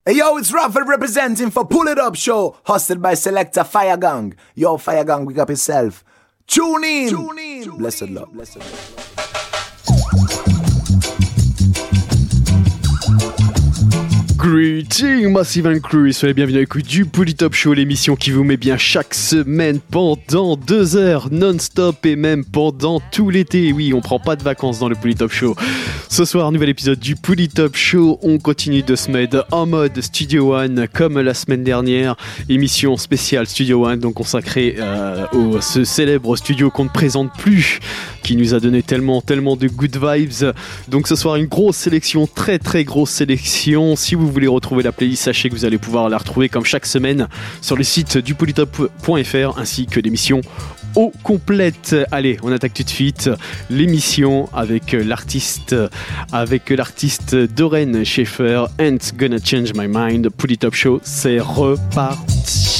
Hey yo, it's Raffle representing for Pull It Up Show, hosted by Selector Fire Gang. Yo, Fire Gang, wake up yourself. Tune in. Blessed love. Greetings Massive and Crew, soyez bienvenus à l'écoute du Pull It Up Show, l'émission qui vous met bien chaque semaine pendant 2 heures non-stop et même pendant tout l'été. Oui, on prend pas de vacances dans le Pull It Up Show. Ce soir, nouvel épisode du Pull It Up Show. On continue de se mettre en mode Studio One comme la semaine dernière. Émission spéciale Studio One, donc consacrée au ce célèbre studio qu'on ne présente plus, qui nous a donné tellement de good vibes. Donc ce soir, une grosse sélection, très grosse sélection. Si vous voulez retrouver la playlist, sachez que vous allez pouvoir la retrouver comme chaque semaine sur le site du pullitup.fr ainsi que l'émission au complète. Allez, on attaque tout de suite l'émission avec l'artiste Doreen Schaefer, Ain't Gonna Change My Mind. Pull It Up Show, c'est reparti.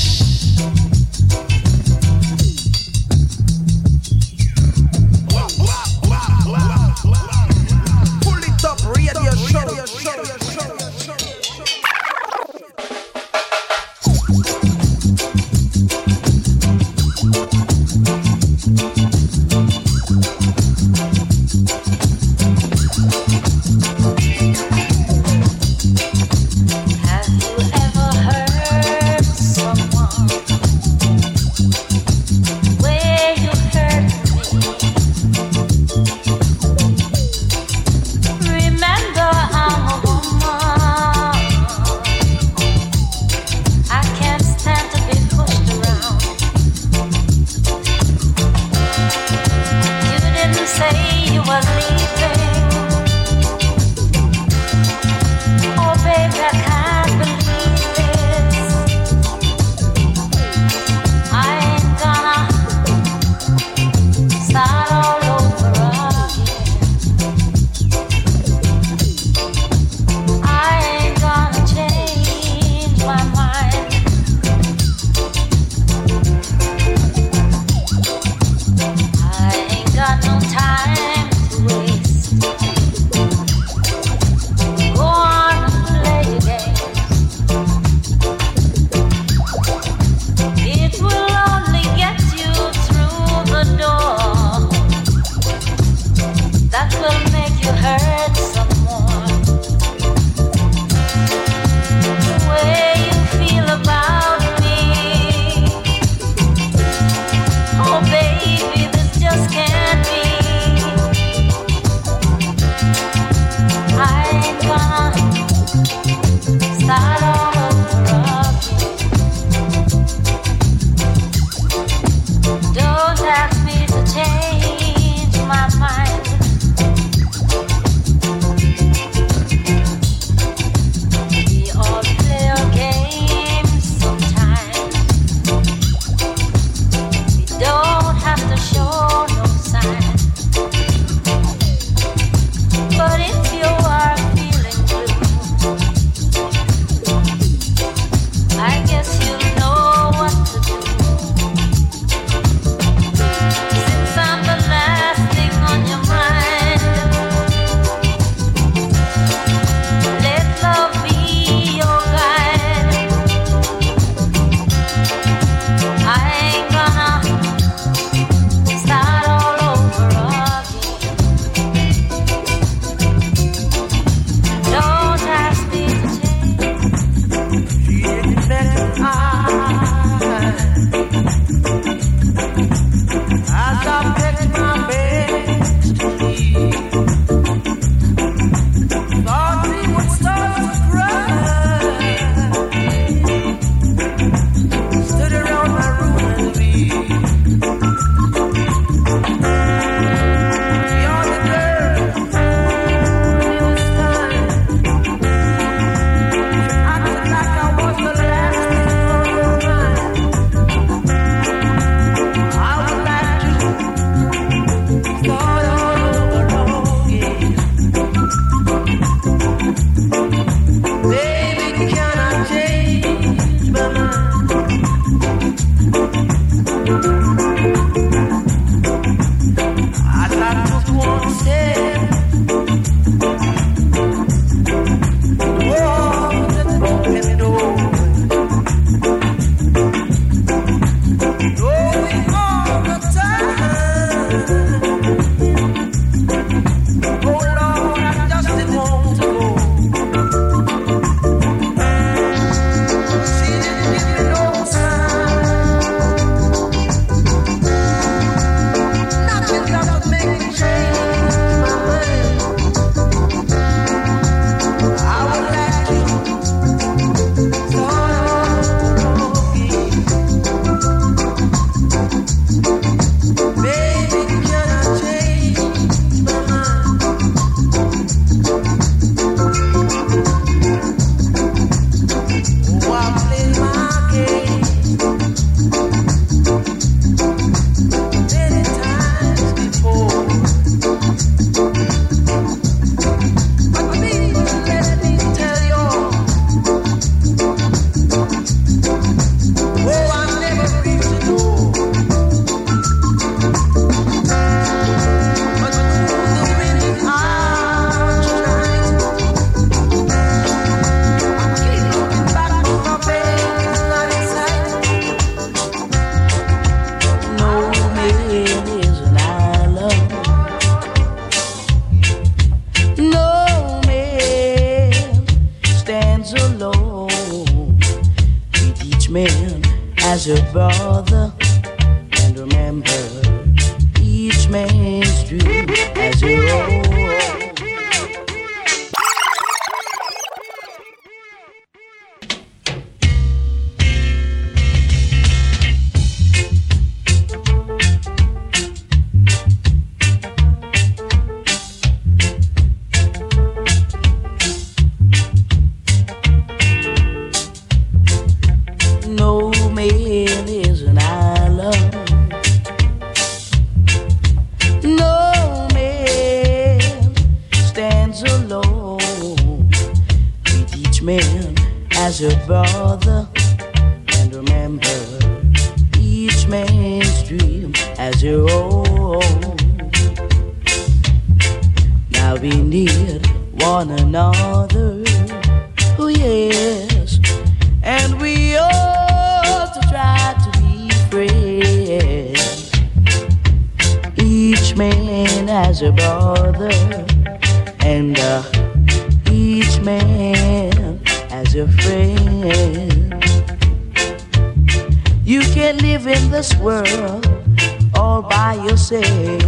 alone. Treat each man as your brother, and remember each man's dream as your own. Your brother, and remember each man's dream as your own. Now we need one another, oh yes, and we ought to try to be friends. Each man has a brother, and each man as a friend. You can't live in this world all by yourself.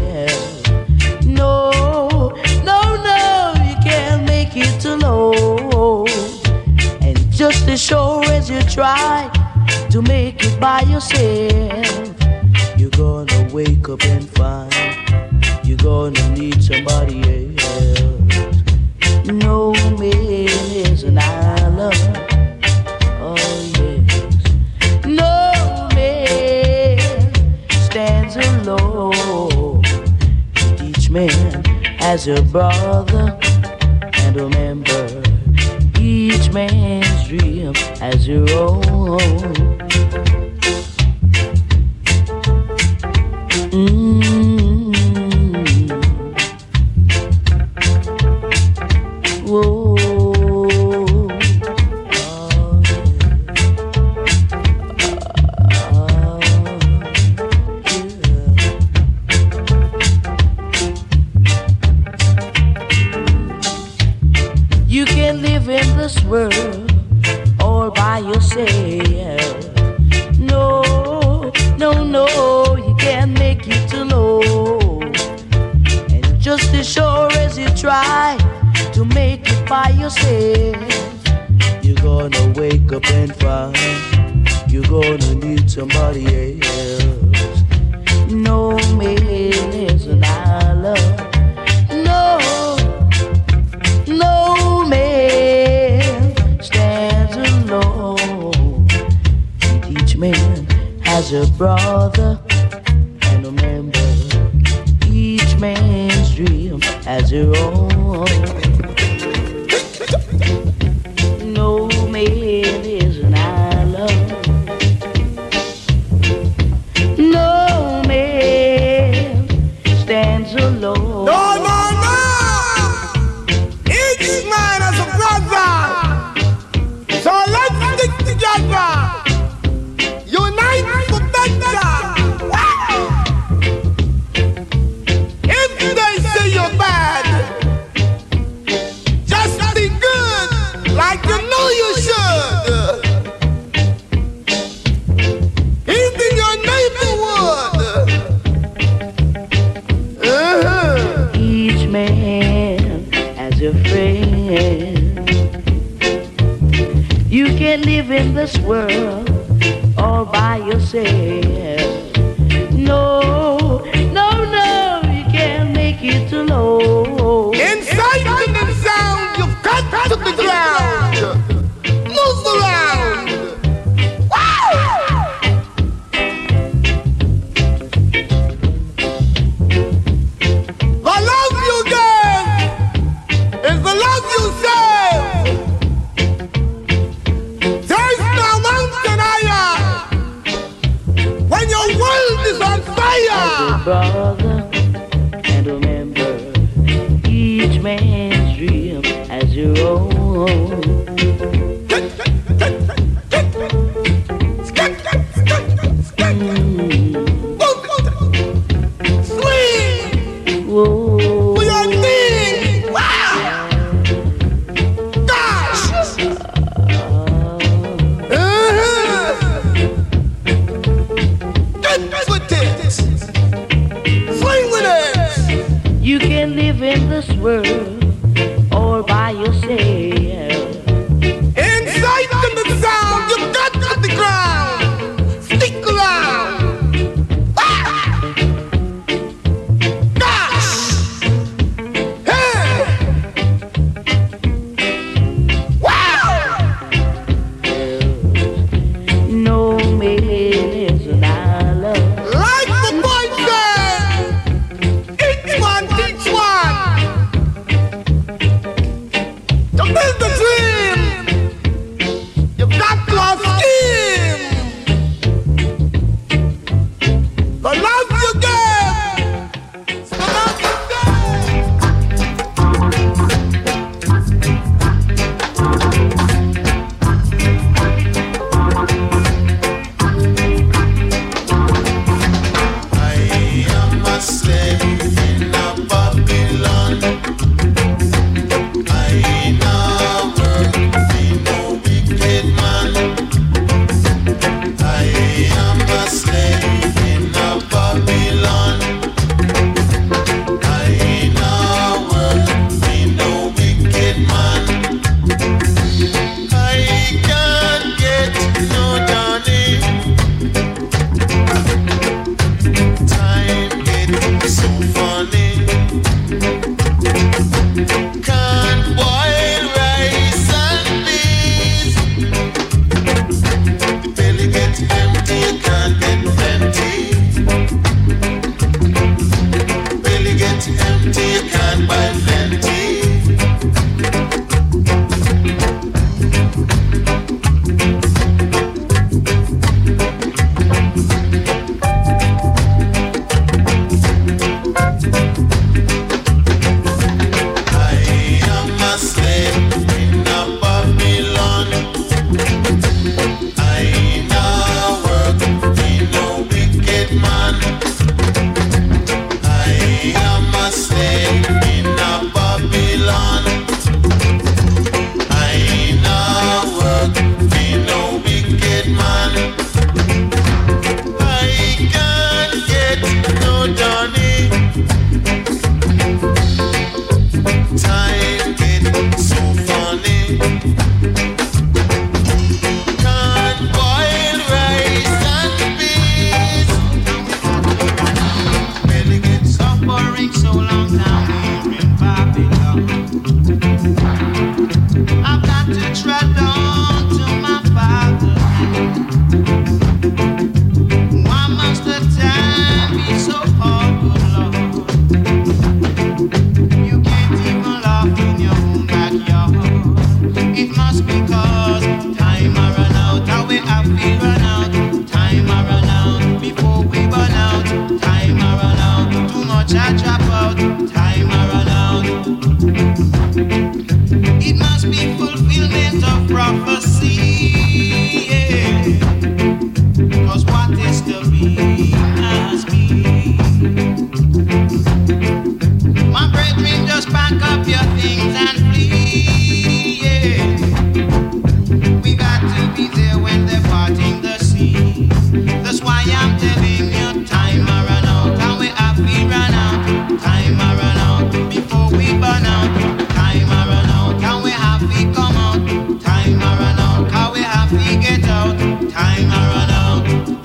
No, no, no, you can't make it alone. And just as sure as you try to make it by yourself, you're gonna wake up and find you're gonna need somebody else. No man is an island, oh yes. No man stands alone. Each man has a brother, and remember, each man's dream has your own. Whoa. You can live in this world all by yourself. No, no, no, you can't make it alone. And just as sure as you try to make it by yourself, you're gonna wake up and find you're gonna need somebody else. No man is an island. No, no man stands alone. Each man has a brother, and remember, each man's dream has your own. No man is an island. No man stands alone. No, no, no! Each man has a brother. So let's stick together. Unite for better. If they say you're bad, just be good, like you know you should. Even your neighborhood. Each man has a friend. You can't live in this world all by yourself. No, no, no, you can't make it alone. Inside and sound, you've got to the ground. Move around. Wow! The love you give is the love you serve. There's no mountain higher when your world is on fire. Brother, and remember, each man's dream has your own. Sweet. Whoa. We are things. Wow. Gosh. world all by yourself. Inside to the sound, you got to the ground. Stick around. Ah! Gosh! Hey! Wow! No man is an island. Like the boy said, each one teach one. To build the dream, you've got to have scheme. The love you give, the love you I am a slave in a Babylon. I now work in no wicked man. I am a slave in a Babylon. I now work in no wicked man. I can't get no Johnny. Time gets so funny. Can't boil rice and peas. The belly gets empty, you can't get plenty. Belly gets empty, you can't buy plenty. I am a slave in a Babylon. I now work in no wicked man. I am a slave in a Babylon. I now work in no wicked man. I can't get no Johnny. Time gets so funny. Can't boil rice and peas. Belly gets Suffering so long down here in Babylon. I've got to tread on to my father's land. Why must the time be so hard, good Lord? You can't even laugh in your own backyard. It must be 'cause time a run out, how we have to run out. Time a run out before we burn out. Time a run out, too much I drop out. Time a run out. It must be fulfillment of prophecy. Yeah. 'Cause what is to be must be. My brethren, just pack up your things and flee. Yeah. We got to be there when they're parting the sea. That's why I'm telling you, time a run out, and we have to run out. Time a run out before we burn out. Time a run out, and we have to come out. Time a run out, 'cause we have to get out. Time a run out.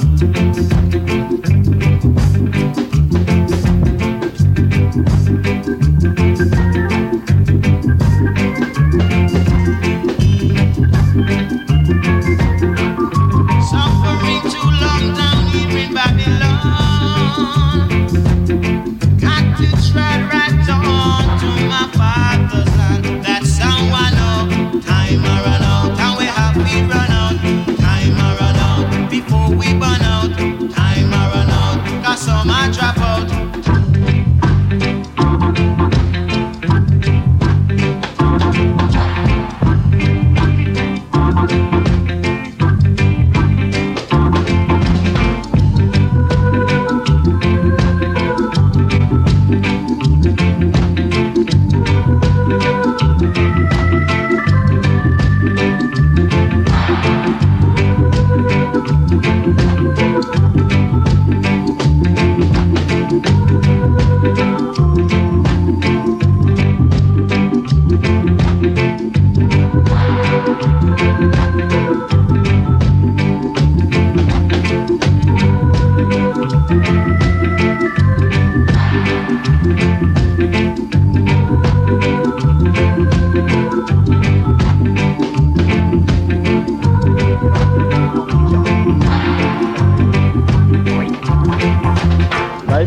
Suffering too long down here in Babylon. Got to tread right on to my father's land. That's how I know. Time a run out, and we have to run out. Time a run out before we burn out. Time a run out, 'cause some I drop out.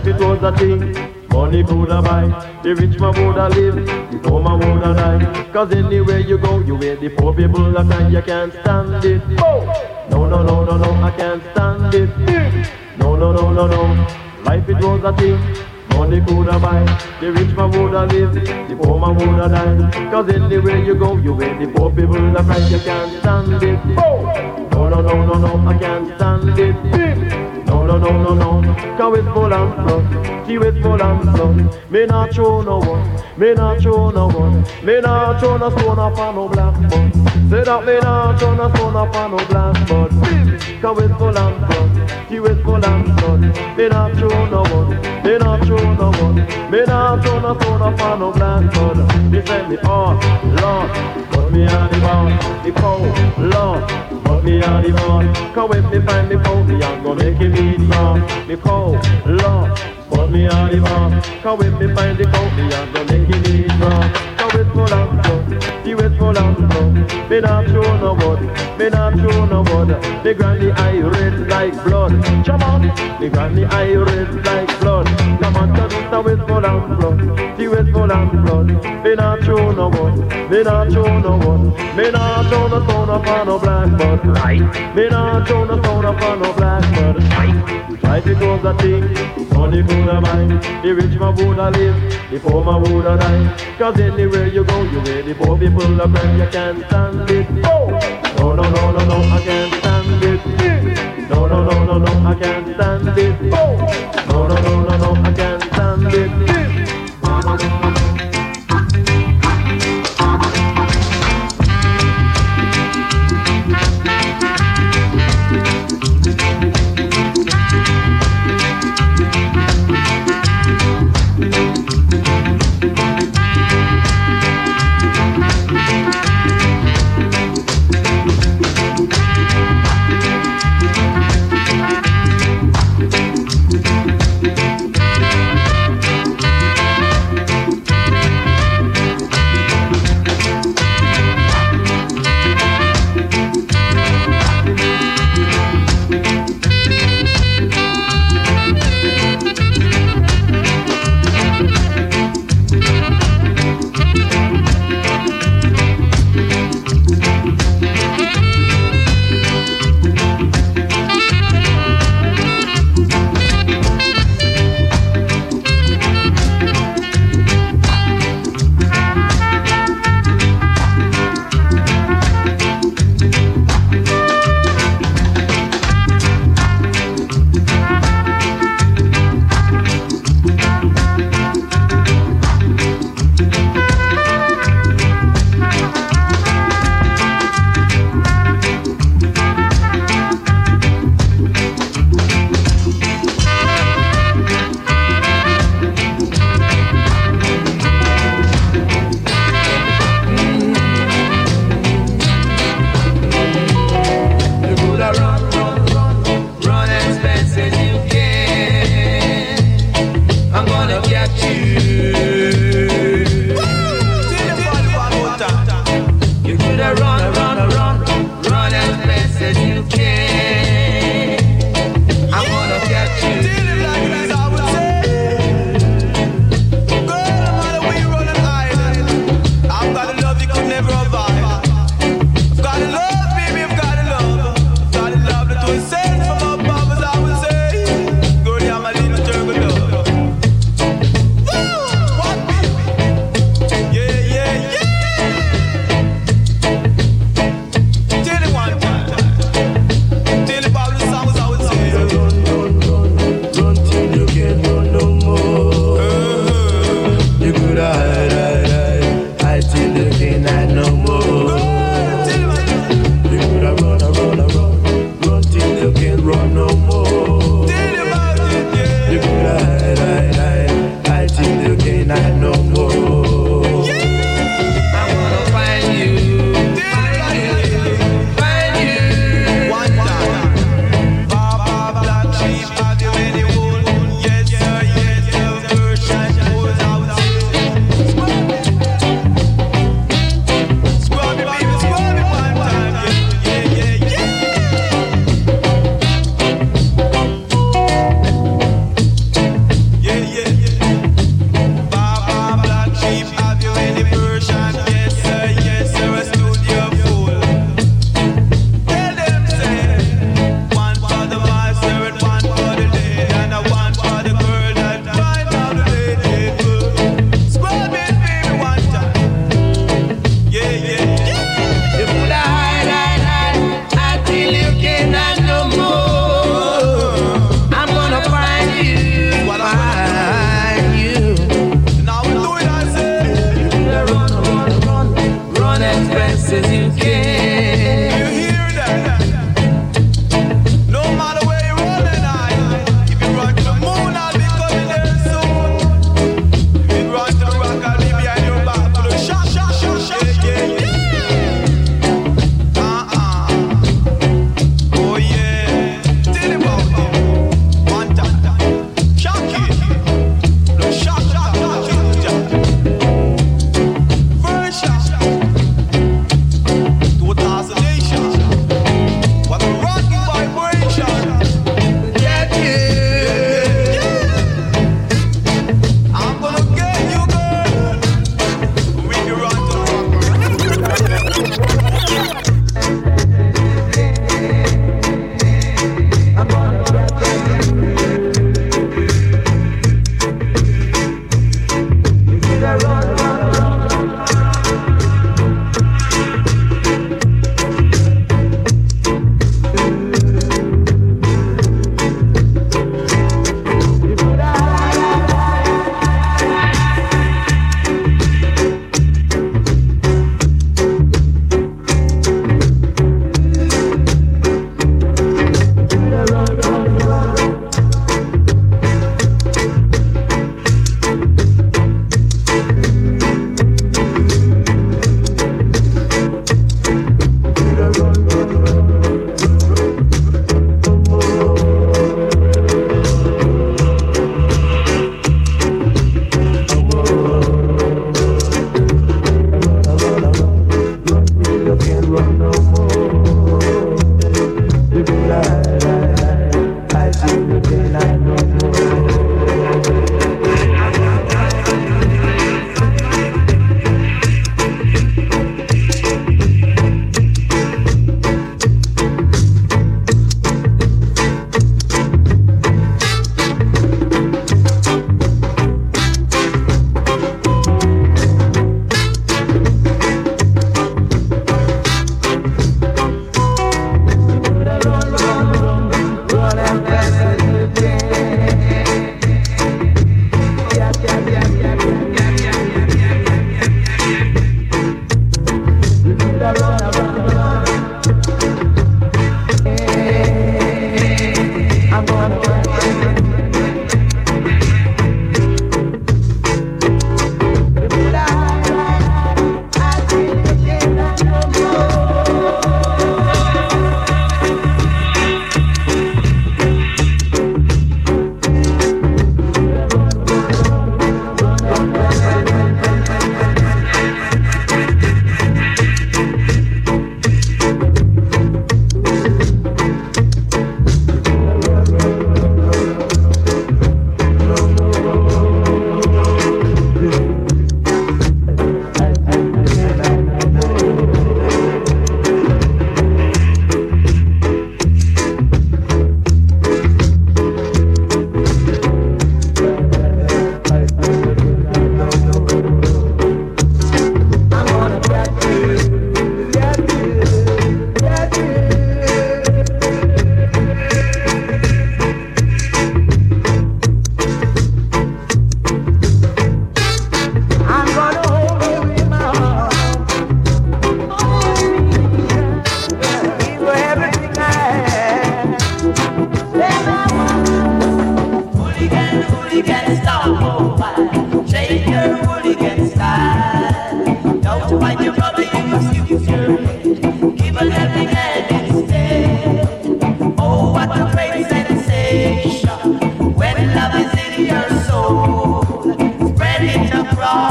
it was a thing money coulda buy. The rich man woulda live, the poor man woulda die. Cause anywhere you go, you hear the poor people a cry. You can't stand it. No, no, no, no, no, I can't stand it. No, no, no, no, no. Life it was a thing money coulda buy. The rich man woulda live, the poor man woulda die. Cause anywhere you go, you hear the poor people a cry. You can't stand it. No, no, no, no, no, I can't stand it. No, no, no, no, no. Cause it's full and flood. See it's full and flood. Me not show no one. Me not show no one. Me not show no stone up on no blackboard. Say that me not show no stone up on no blackboard. Cause it's full and flood. See it's full and flood. Me not show no one. Me not show no one. Me not show no stone up on no blackboard. Me say me oh Lord, but me are the boss. The cold Lord, but me are the boss. Cause when me find me cold, me I'm gonna make him eat wrong. Me cold Lord, but me are the boss. Cause when me find the cold, me I'm gonna make him eat wrong. Cause it's full and flow, see it's full and flow. Me not show no word, me not show no word. Me granny eye red like blood. Come on, me granny eye red like blood. Come on, cause it's full and flow, see it's full and blood. Me not show no word, me not show no word. Me not show no stone up on no blackboard. Right. Me not show no stone up on no blackboard. Right. Life it was a thing, money coulda buy. The rich man woulda live, the poor man woulda die. Cause anywhere you go, you hear the poor people a cry. You can't stand it. No, no, no, no, no, I can't stand it. No, no, no, no, no, I can't stand it. No, no, no, no, no, I can't stand it.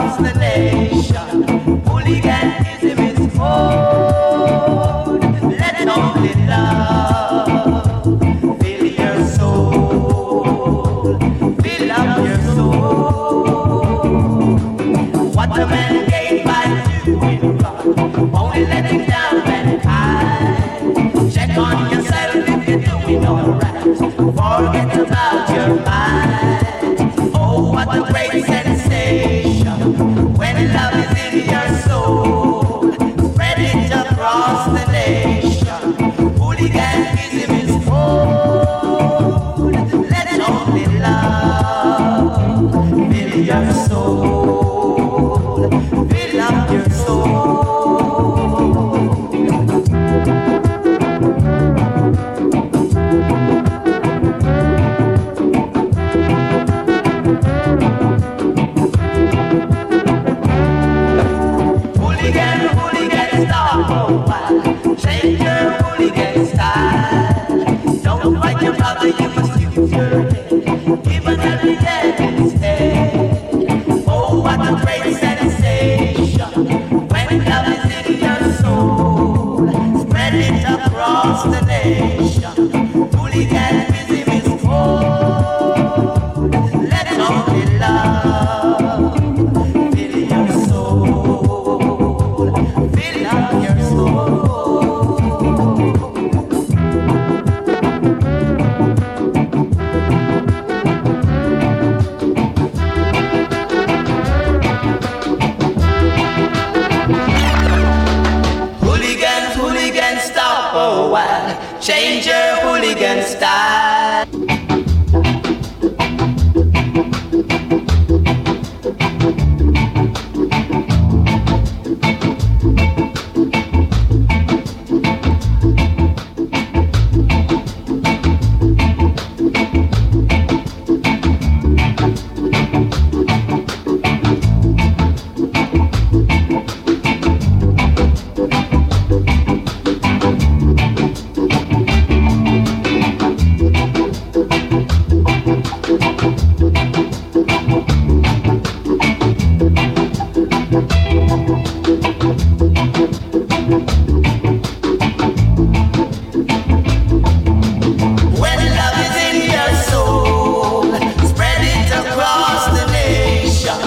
across the nation. Hooliganism is cold. Let only love fill your soul. Fill up your soul. What a man gained by doing wrong, only letting down mankind. Check on yourself if you're doing alright. Forget about your mind. Oh, what a great sensation when love is in your soul. Spread it across the nation. Hooliganism is cold. Let only love fill your soul. Fill up your soul. Hooligan, stop a while. Change your hooligan style. Don't fight your brother, you must use your head. Even at the devil's head. Oh, what a great sensation when love is in your soul. Spread it across the nation. Hooliganism is cold. Let only love fill your soul. Fill up your soul. Hooligan, stop a while. Change your hooligan style. When love is in your soul, spread it across the nation.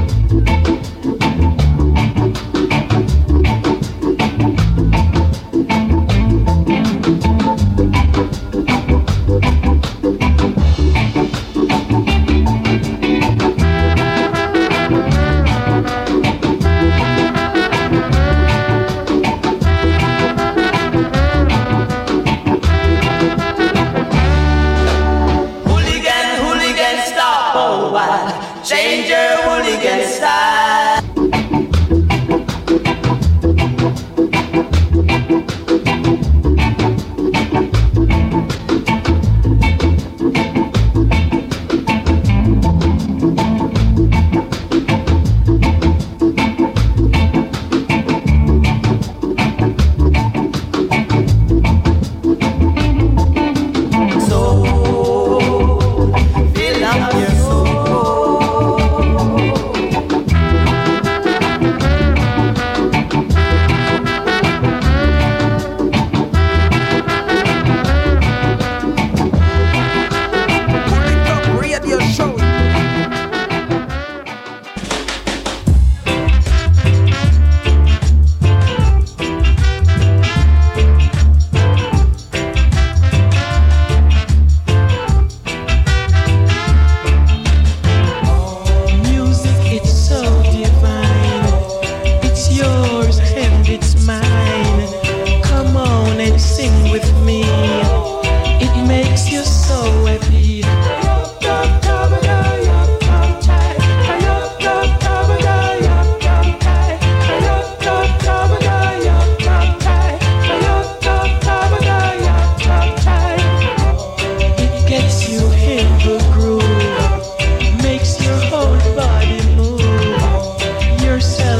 Hooligan, stop a while. Change your hooligan style. Soul, fill up your soul.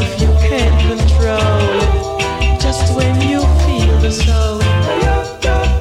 soul.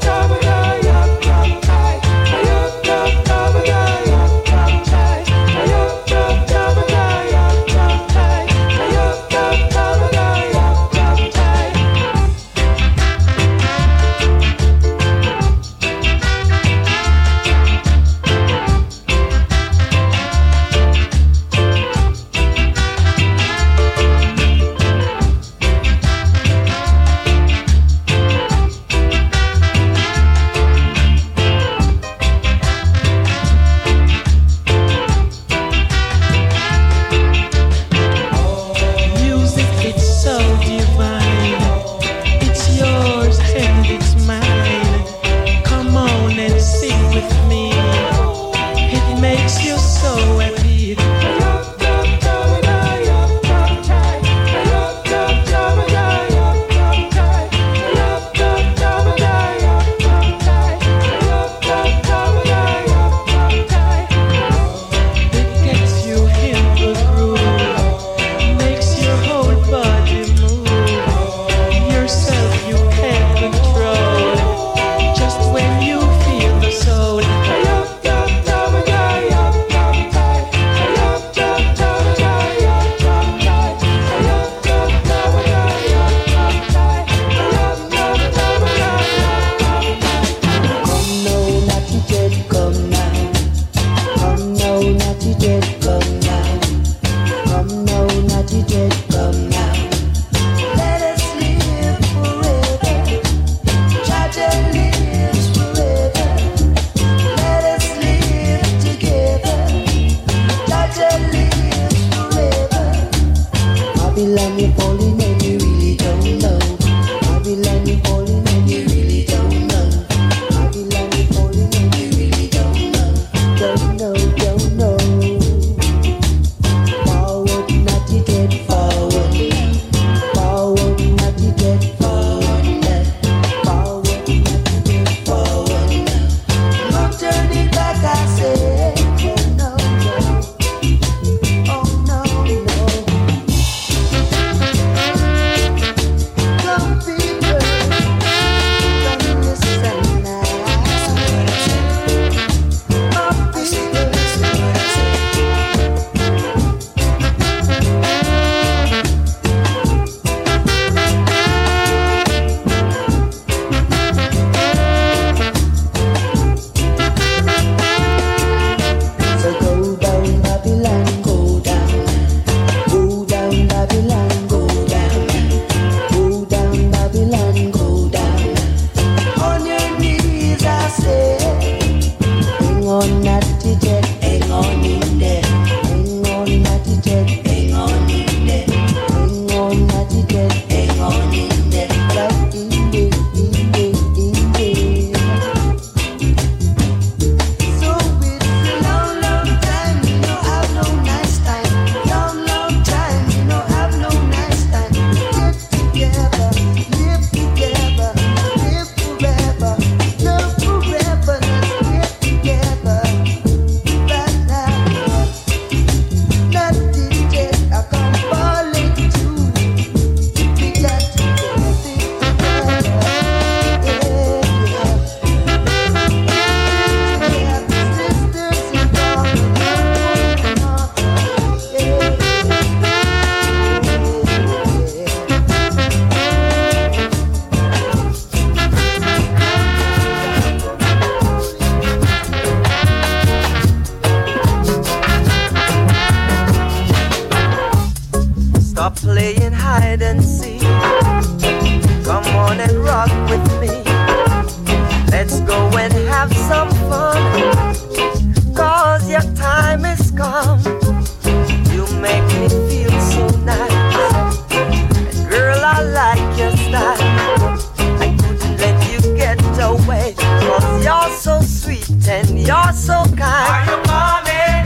hide and seek. Come on and rock with me. Let's go and have some fun. 'Cause your time is come. You make me feel so nice. And girl, I like your style. I couldn't let you get away. 'Cause you're so sweet and you're so kind. Are you coming?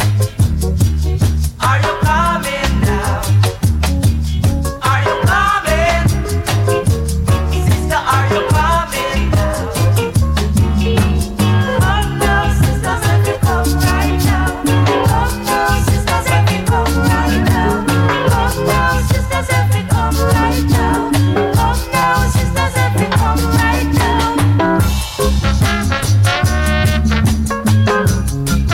Are you coming now? Are you coming? Sister, are you coming now? Come now, sisters, if you come right now. Come now, sisters, if you come right now. Come now, sisters, if you come right now. Come now, sisters, if you come right now.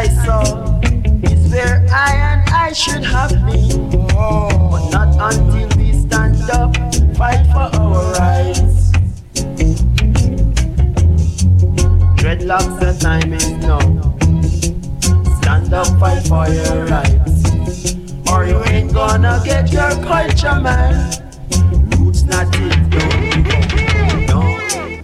saw is where I should have been. But not until we stand up, fight for our rights. Dreadlocks, the time is now. Stand up, fight for your rights. Or you ain't gonna get your culture, man. Roots not it, don't go, no.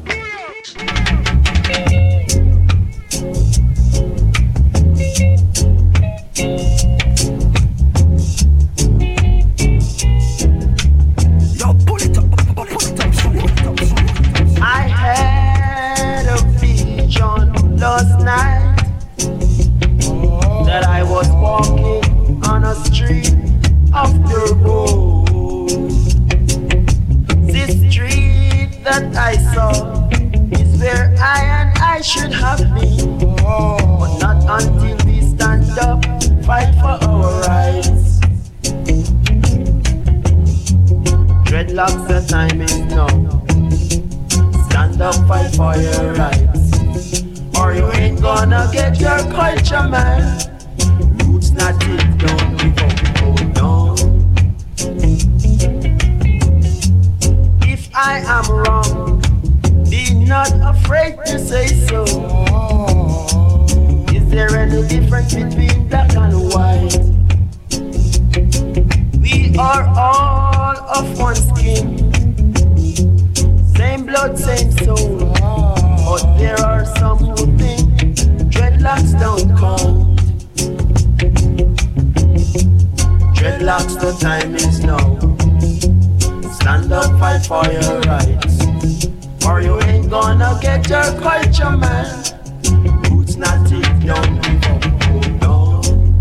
I had a vision last night that I was walking on a street of the road. This street that I saw is where I should have been. But not until we stand up, fight for our rights. Dreadlocks, the time is now. Stand up, fight for your rights. Or you ain't gonna get your culture, man. Roots not it, don't give up, hold on. If I am wrong, be not afraid to say so. Is there any difference between black and white? We are all of one skin, same blood, same soul. But there are some who think dreadlocks don't count. Dreadlocks, the time is now. Stand up, fight for your rights. Or you ain't gonna get your culture, man. Roots not it, don't give up, hold on.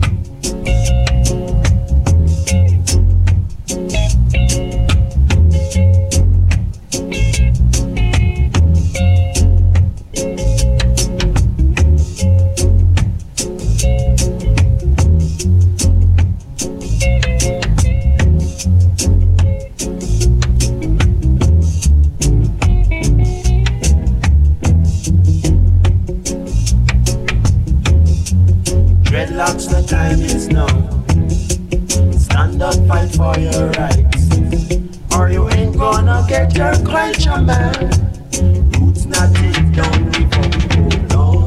Dreadlocks, the time is now. Stand up, fight for your rights. Or you ain't gonna get your culture, man. Roots not it, don't give up, hold on.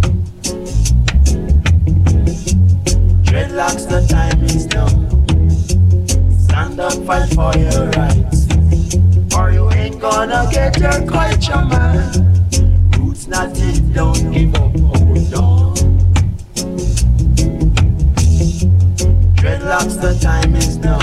Dreadlocks, the time is now. Stand up, fight for your rights. Or you ain't gonna get your culture, man. Roots not it, don't give up, hold on. Dreadlocks, the time is now.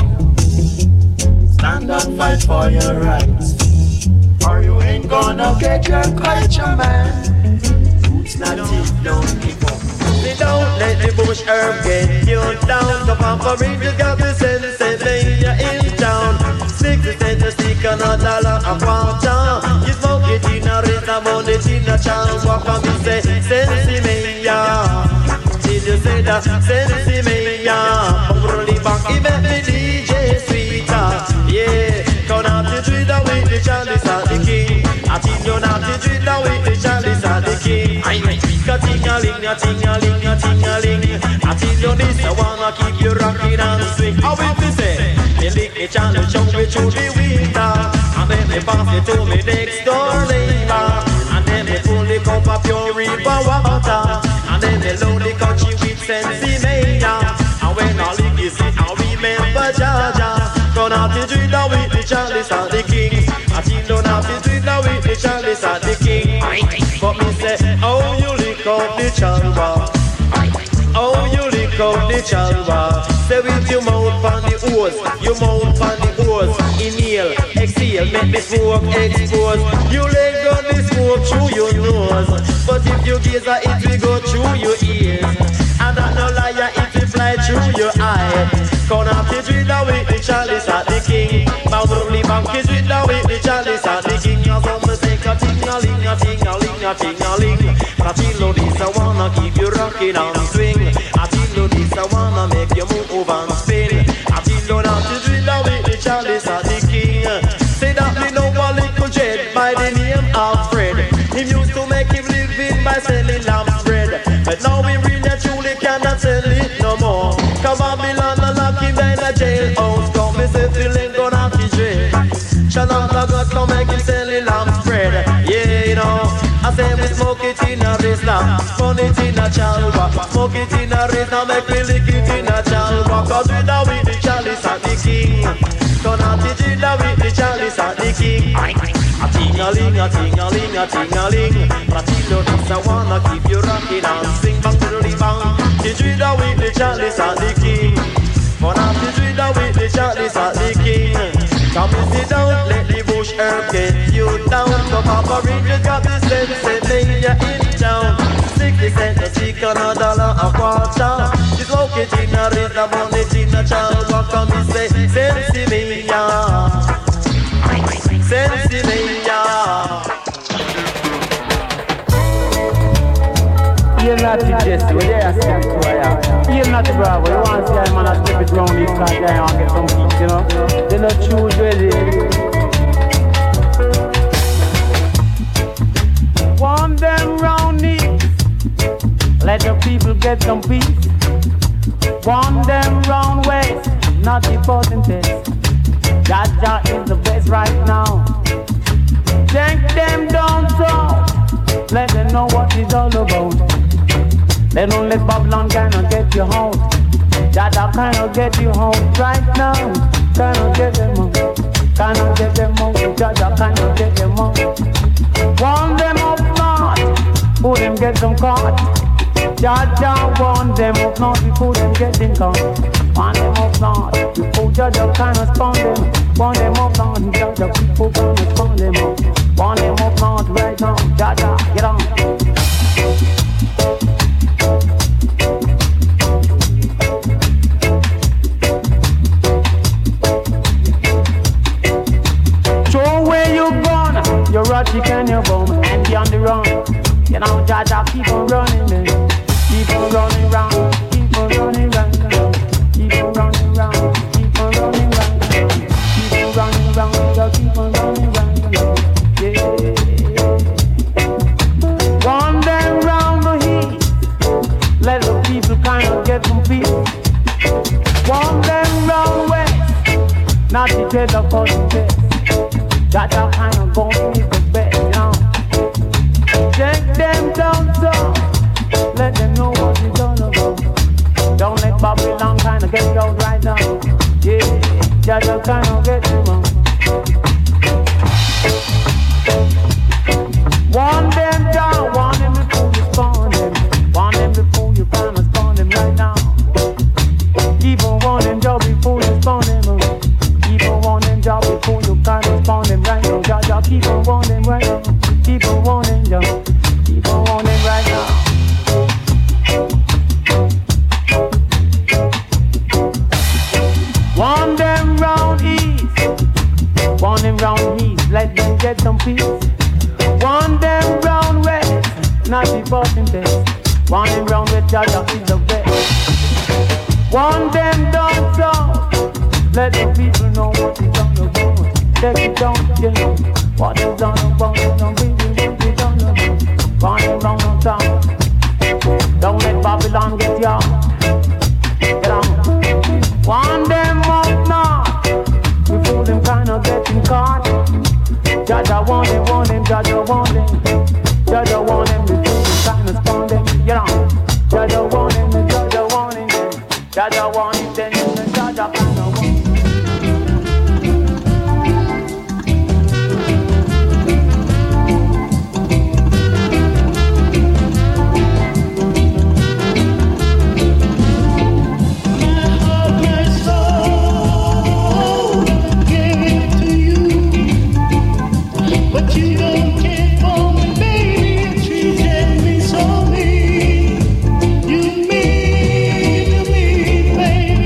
Stand up, fight for your rights. Or you ain't gonna get your culture, man. Roots not it, don't give up. Don't let the bush herb get you down. The Pampa Rangers got the sense that lay in town. 60 cents a stick and a dollar a quarter. You smoke it in a rhythm on it in a chance. Walk on and say, sensi me ya. Did you say that? Sensi me ya. Probably back, he met me DJ Sweeter. Yeah, come out the driller with the chalice at the king. I think you're not the driller with the chalice at the king. Ting-a-ling, a-ting-a-ling, a-ting-a-ling. I tell you this, I wanna keep you rocking and swing. How will we say? Me lick the channel, show me through the winter. And then me pass it to me next door neighbor. And then me pull the cup of pure river water. And then me load the country with sensi mania. And when I lick it, I remember Jaja. Gonna have to driller with the chalice and the king. I think don't have to driller with the chalice and the king. But me say, oh you lick out the chalwa. Oh you lick out the chalwa. Say with your mouth on the hose, your mouth on the hose. Inhale, exhale, make the smoke expose. You let go the smoke through your nose. But if you gaze at it will go through your ears. And that no liar, it will fly through your eye. Gonna have to driller with the chalice at the king. Probably bank is driller with the chalice at the king. As I'm a say a ting-a-ling, a ting-a-ling, a ting-a-ling. I tell you this, I wanna keep you rocking and swing. I tell you this, I wanna make you move and spin. I tell you not to driller with the chalice at the king. Say that me know a little jet by the name of Fred. Him used to make him living by selling lamb bread. But now we really truly can Burn it in a chalwa, smoke it in a race, now make me lick it in a chalwa. Cause with the chalice at the king. Turn out the ginger with the chalice at the king. A ting-a-ling, a ting-a-ling, a ting-a-ling. Latino this I wanna keep you rocking and sing bang to the bang. The ginger with the chalice at the king. Turn out the ginger with the chalice at the king. Come and sit down, let the bush herb get you down. So Papa Rangers got the sense, lay ya in town. 60 cents a stick and $1 a quarter. She's located in a rhythm, on it in a child. What come and say, Sensimilla, Sensimilla. You're not the Jesse, we're there, you're not the Bravo. You want to see a man a step it round this car there and get some peace, you know? They not choose ready. Want them round knees, let the people get some peace. Want them round waist, not the potentate. Jaja is the best right now. Take them downtown, let them know what it's all about. They don't let Babylon kind of get you home. Jaja kind of get you home right now. Kind of get them home, kind of get them home. Jaja kind of get them home. Want them up north, who them get them caught. Jaja want them up north before them getting caught. Want them up north before Jaja kind of spawn them. Want them up north, Jaja people kind of spawn them up. Want them up north right now. Jaja, get on. Show where you gone, you're rotty and you're bum, and be on the run. You know, Jaja, keep on running, man. Keep on running round, keep on running round, keep on running round, keep on running round, keep on running round, keep on running round, yeah. Run them round the heat, let the people kind of get some peace. Run them round west, not to get the fucking best. Jaja kind of gon' be the best, you know. Take them down south, let them know what it's all about. Don't let Babylon kind of get you out right now. Yeah, Jaja kind of get you out. Want them down, want them before you spawn them. Want them before you kind of spawn them right now. Keep on wanting job before you spawn them. Keep on wanting job before you kind of spawn them right now. Jaja, keep on wanting right now. Keep on wanting job. Keep on wanting right now. Want them round east, want them round east, let them get some peace. Want them round west, not the bottom best. Want them round west, Jaja is the best. Want them down south, let the people know what is on the board. Take it down, you know, what is on the board. Don't be what is on the board. Want them round the town, don't let Babylon get you out. Get on. Want them up north, before them kind of getting caught. Jaja want them, Jaja want them. Jaja want them before them kind of spawn them. You know, Jaja want them, Jaja want them. Jaja want it, then Jaja kind of want them. Baby.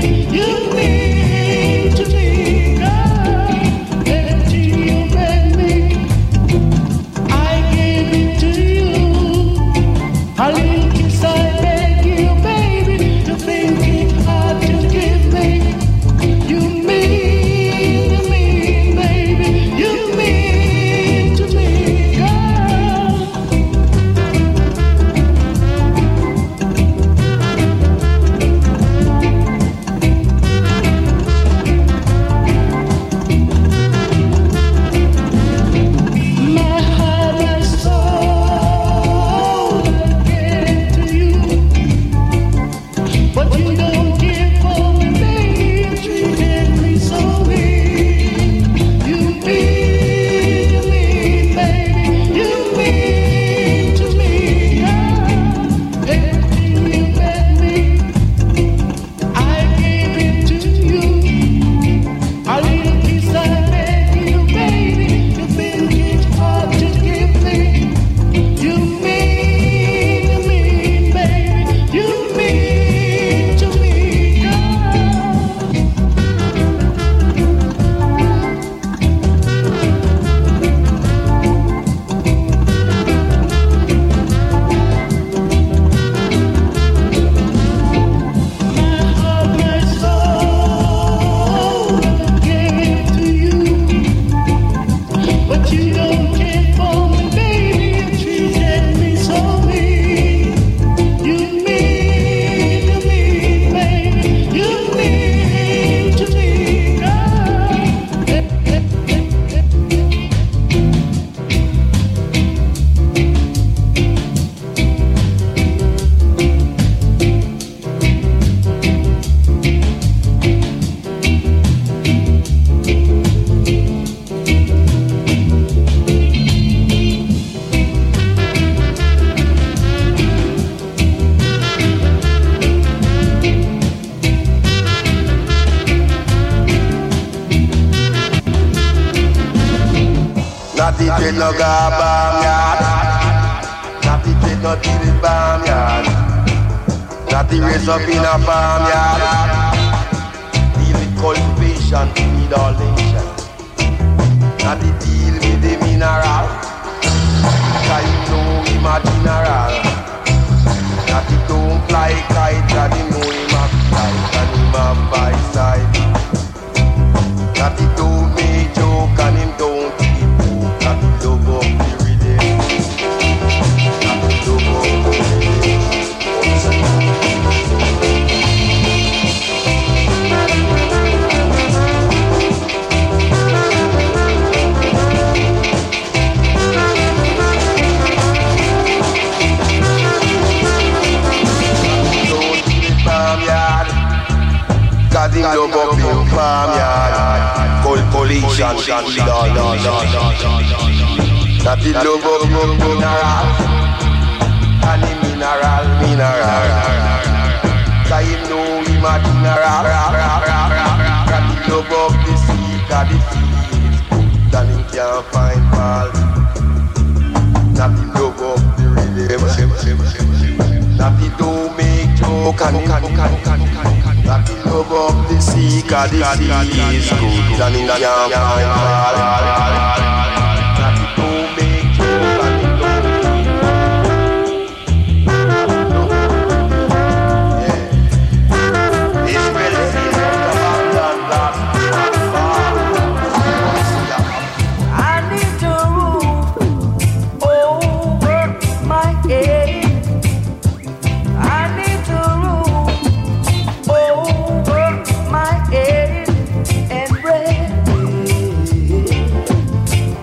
Not the dread no go barnyard. Not the dread no till the barnyard. Not the raise up in a farmyard. Deal with cultivation, feed all nations. Not the deal with the mineral. Cause you know him a general. Not the don't fly kite, cause you know him a fly and him a bicycle. Not the don't make joke and him don't keep joke. Not the love of the rhythm. Not the love of the rhythm. Cause him love up in farmyard. Cultivation, that he love up in mineral. And the mineral. Cause him know him a general. That he love up the sea, cause the sea is good and him can't find fault. That he love up the rhythm. That he don't make joke and that he love up the sea, cause the sea is good and he can't find fault. That he don't make joke and he don't yeah. It's really I need to roof over my head. I need to roof over my head and bread.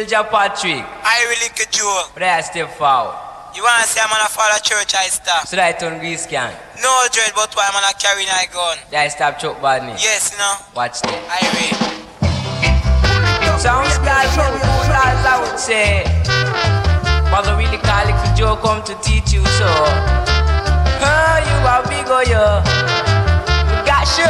Little Joe Patrick. I really could Joe. But I step forward. You wanna say I'm gonna follow church, I stop. So that I turn grease can. No dread, but why I'm gonna carry my gun? That I stop choke badness. Yes, you know. Watch that. I read. Sounds like cool as I would say. Mother really call it for Joe come to teach you so. You are big or you. Gotcha.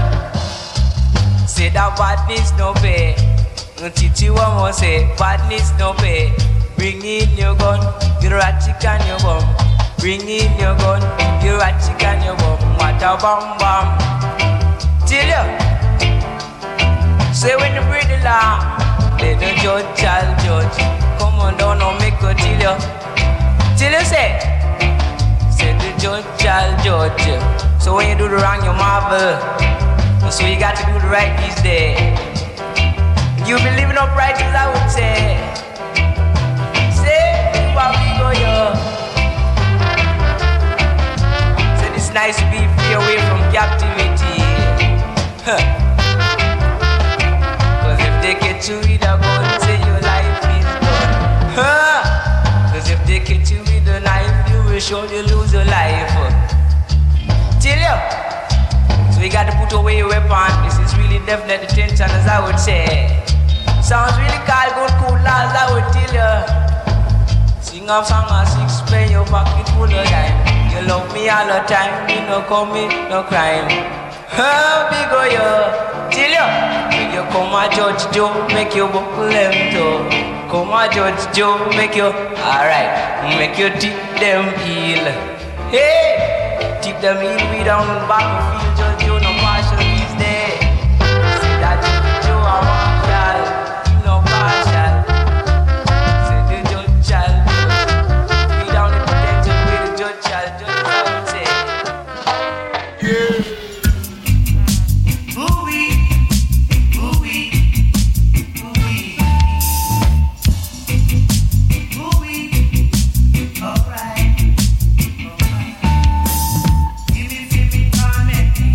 Say that badness no pay. Teach you one more say badness no pay. Bring in your gun, your ratchet and your bum. Bring in your gun, your ratchet and your bum. What a bam bam. Tell you. Say when you breathe the law, let the judge shall judge. Come on down and make a tell you. Tell you say the judge shall judge. So when you do the wrong you marvel. So you got to do the right these days. You be living upright as I would say. So it's nice to be free away from captivity. Cause if they catch you with a gun, say your life is done. Cause if they catch you with a knife, you will surely lose your life. Tell you. So you got to put away your weapon. This is really definite attention as I would say. Sounds really cool as I would tell you. Sing a song a six, play your pocket full of dime. You love me all the time, me no commit no crime. Big o you, tell you. When you come a Judge Joe, make you buckle them toe. Come a Judge Joe, make you alright, make you tip them heel. Hey, tip them heel, we down in battlefield. Judge Joe no partial these days. See that Judge Joe a marshal, you no partial. Give me,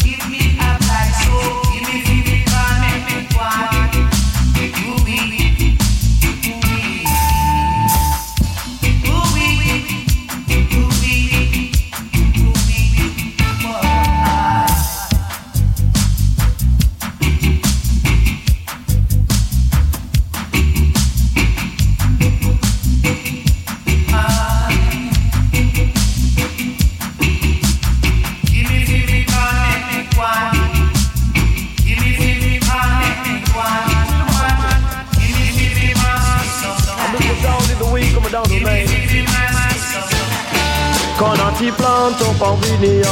Give me a black soul. Give me baby, come make me want. Quand on t'y plante, on peut venir.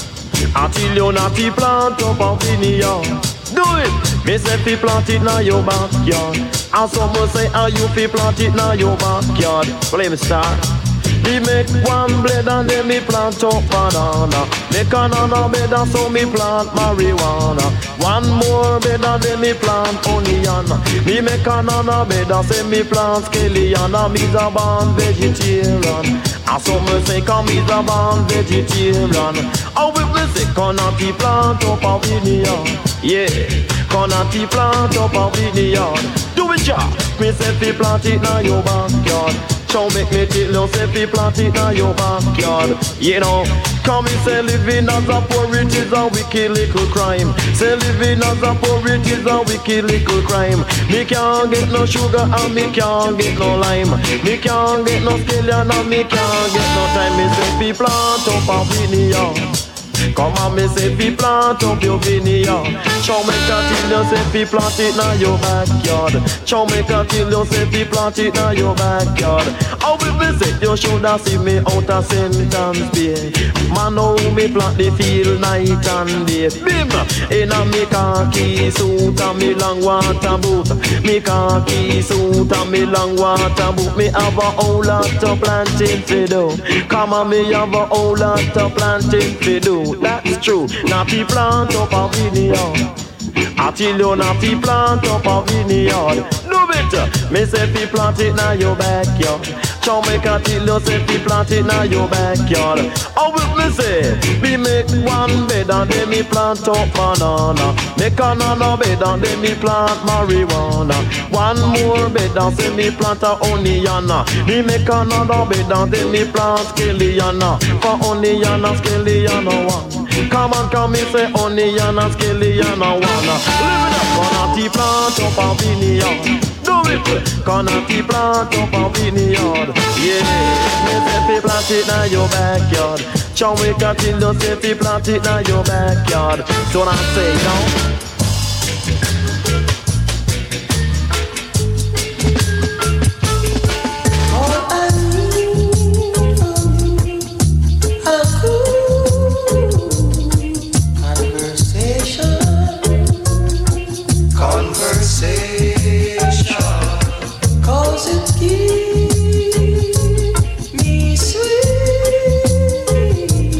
Until on t'y plante, on peut venir. Do it! Me say fi plant it na your backyard. And some will say, how you fi plant it na your backyard. Play me star. Me make one blade and then me plant up banana. Make another bed and so me plant marijuana. One more bed and then me plant onion. Me make another bed and say me plant scallion. And me's a born vegetarian. And some will say come me's a born vegetarian. How we me say can't plant up a vineyard? Yeah, can't plant up a vineyard. Do it ya? Me say fi plant it na your backyard. So make me tell you, say fi plant it na your backyard. You know, come and say living as a poor it is a wicked little crime. Say living as a poor it is a wicked little crime. Me can't get no sugar and me can't get no lime. Me can't get no scallion and me can't get no time. Me say fi plant up a vineyard. Come on, me say fi plant up your vineyard. Show me till you say fi plant it na your backyard. Show me till you say fi plant it na your backyard. How we visit you shoulda see me out of Sentence Bay. Man, how me plant the field night and day. Bim! Inna me khaki suit and me long water boot. Me khaki suit and me long water boot. Me have a whole lot of planting to do. Come on, me have a whole lot of planting to do. That's true. Now fi plant up a vineyard. Until you now fi plant up a vineyard. Do it. Me say fi plant it na your backyard. Show me till you say fi plant it na your backyard. How will me say? Me make one bed and then me plant up banana. Make another bed and then me plant marijuana. One more bed and say me plant a onion. Me make another bed and then me plant scallion. For onion and scallion one. Come on, come me say onion and scallion one. Live it up, gonna plant up a vineyard. Do it, gonna plant up a vineyard. Yeah, me say fi plant it na your backyard. Show me till you say fi plant it na your backyard. Don't I say no?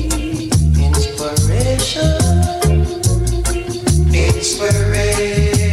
Inspiration.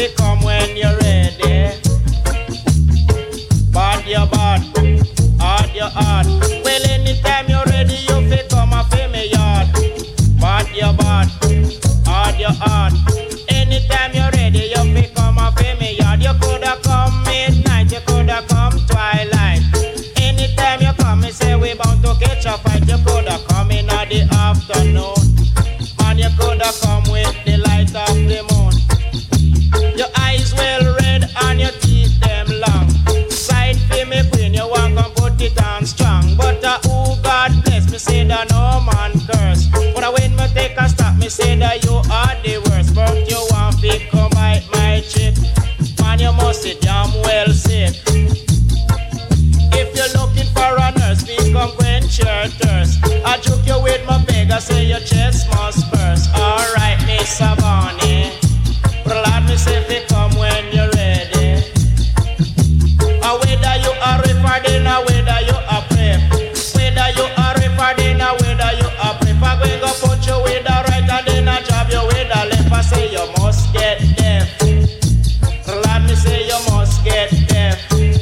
fi come when you're ready. Bad your bad, hard your heart. Well, anytime you're ready, you fi come and fi me yard. Bad your bad, hard your heart. Anytime you're ready, you fi come and fi me yard. You coulda come midnight, you coulda come twilight. Anytime you come, me say we bound to catch a fight. You coulda come in at the afternoon, and you coulda come with the light of the moon. Your eyes well red and your teeth them long. Side for me queen, you want come put it on strong. But who God bless me say that no man curse. But when me take a stop, me say that you are the worst. But you want to come bite my chick, man, you must sit damn well sick. If you're looking for a nurse, we come quench your thirst. I joke you with my beg, I say your chest must burst. Alright, Miss Bonnie, but Lord, me say fi come when you're ready. A whether you are referred a whether you are prep. Whether you are referred a whether you are prep. I go go put you with the right and then I job you with the left. I say you must get deaf. Lord, me say you must get deaf.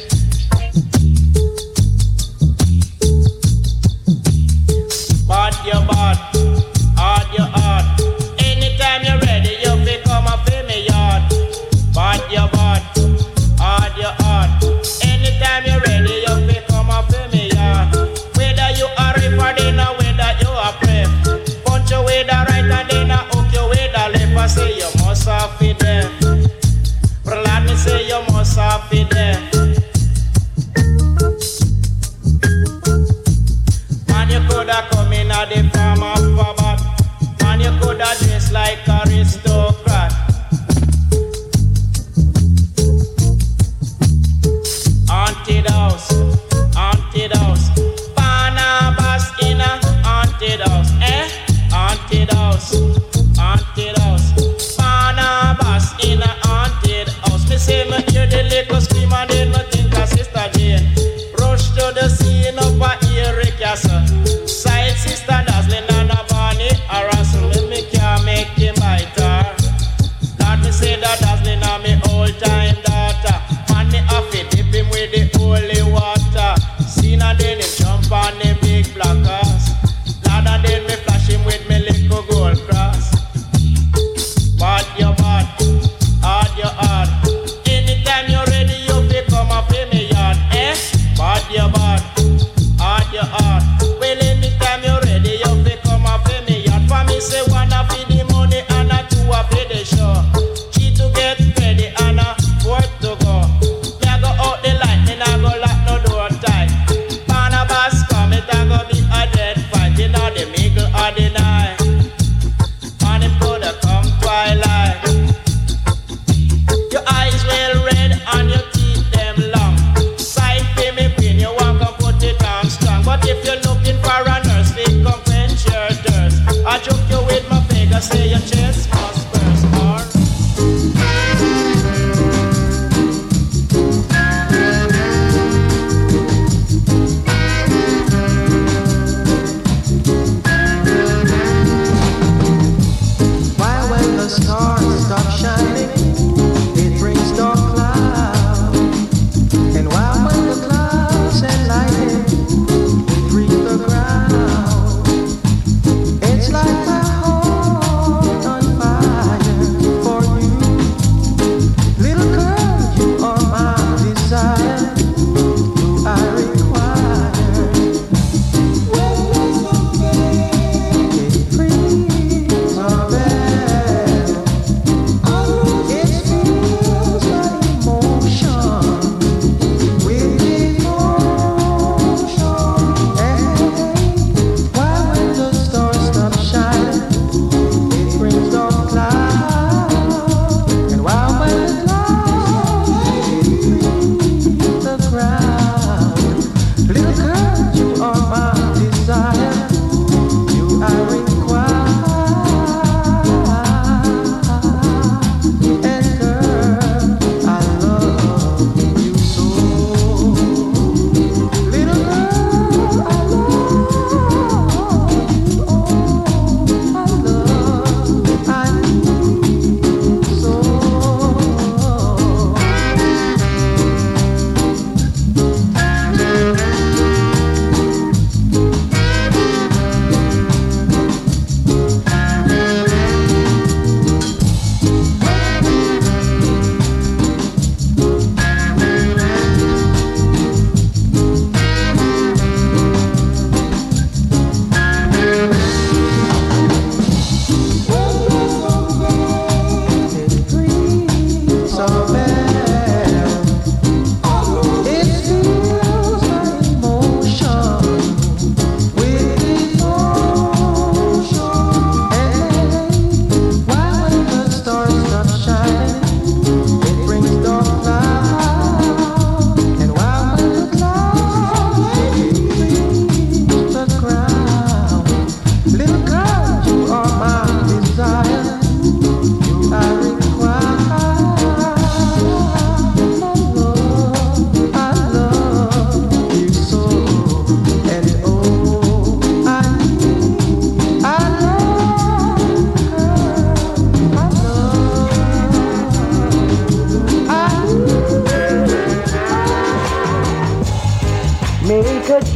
Bad your bad, hard your heart. Anytime you're ready, you fi come and fi me yard. Bad your bad, hard your heart. Anytime you're ready, you fi come and fi me yard. Whether you are referred or whether you are prep. Punch you with the right and then I hook you with the left. I say you must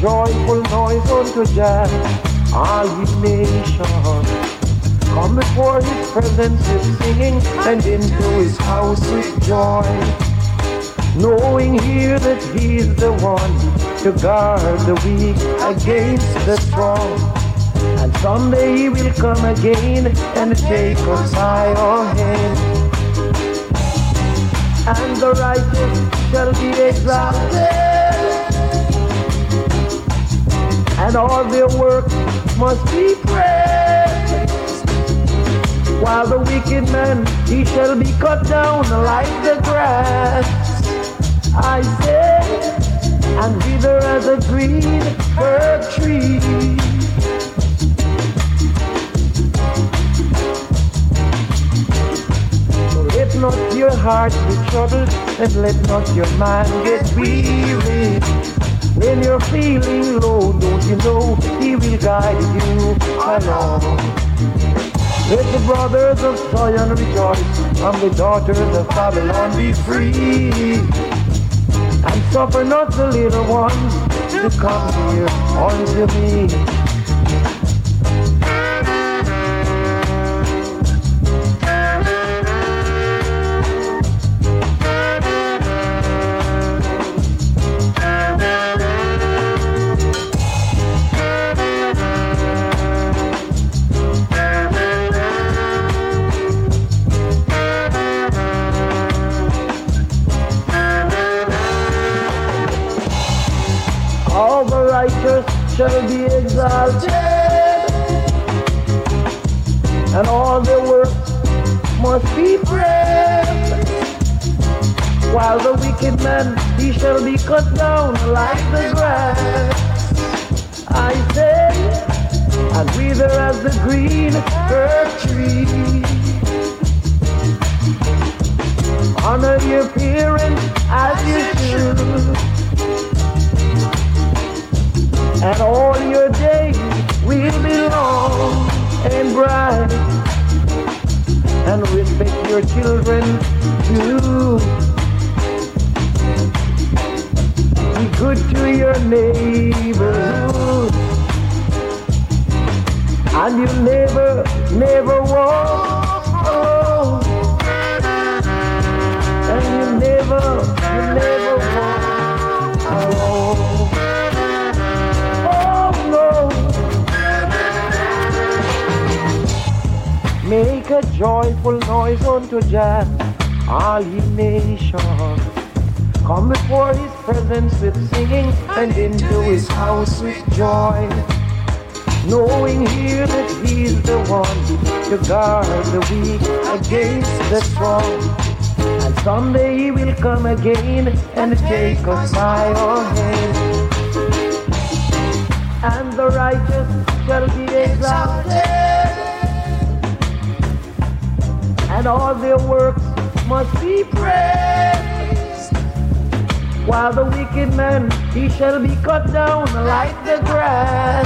joyful noise unto Jah, all ye nations. Come before his presence with singing, and into his house with joy. Knowing here that he is the one to guard the weak against the strong. And someday he will come again and take us higher ahead. And the righteous shall be exalted, and all their works must be praised. While the wicked man, he shall be cut down like the grass, I say, and wither as a green herb tree. Let not your heart be troubled, and let not your mind get weary. When you're feeling low, don't you know he will guide you along. Let the brothers of Zion rejoice, and the daughters of Babylon be free. And suffer not the little ones to come here unto me. All the righteous shall be exalted, and all their works must be praised. While the wicked man, he shall be cut down like the grass, I say, and wither as the green herb tree. Honor your parents as you should, and all your days will be long and bright. And respect your children too. Be good to your neighborhood, and you never walk alone. And you never walk alone. Make a joyful noise unto Jah, all ye nations. Come before his presence with singing, and into his house with joy. Knowing here that he is the one to guard the weak against the strong. And someday he will come again and take us by our hand. And the righteous shall be exalted, and all their works must be praised. While the wicked man, he shall be cut down like the grass.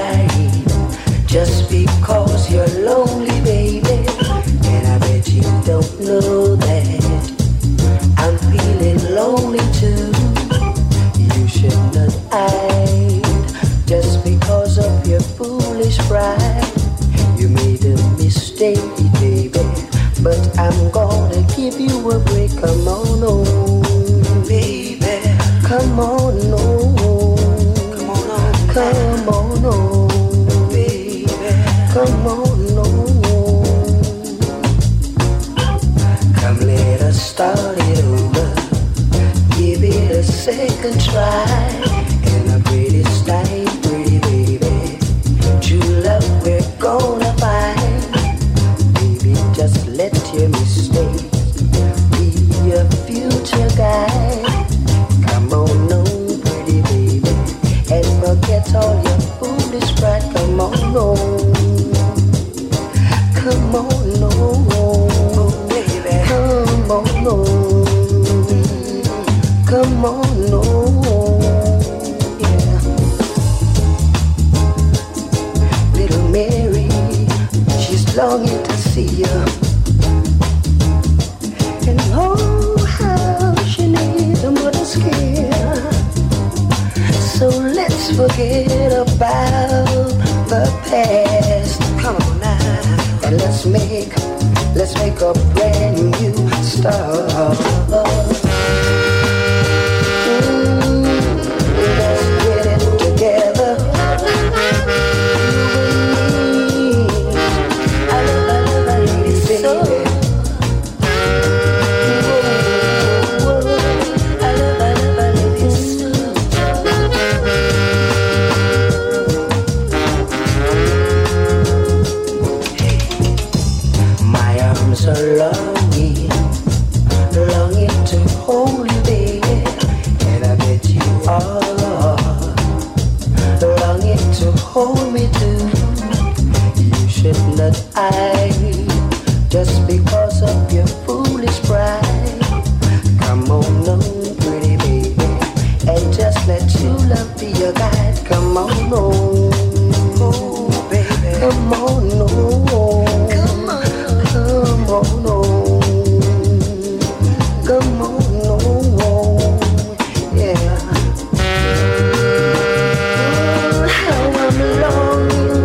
crying just because you're lonely, baby. And I bet you don't know that I'm feeling lonely too. You should not hide just because of your foolish pride. You made a mistake, baby, but I'm gonna give you a break. Come on, oh, baby, come on, oh, come on, oh, come on, oh, baby, come on, oh. Come, let us start it over. Give it a second try. And a pretty style, pretty baby. True love we're gonna find. Baby, just let your mistake be your future guide. Come on, no, pretty baby, and forget all your foolish pride. Come on, no, come on, no, baby, come on, no, come on, no. Mary, she's longing to see you. And oh, how she needs a mother's care. So let's forget about the past. Come on now, and let's make a brand new start. Let's get it together. Longing to hold you, baby, and I bet you are longing to hold me too. You should not hide just because of your foolish pride. Come on, no, pretty baby, and just let your love be your guide. Come on, no, oh, baby, come on, no, come on, no. Come on, no, yeah. Oh, how I'm longing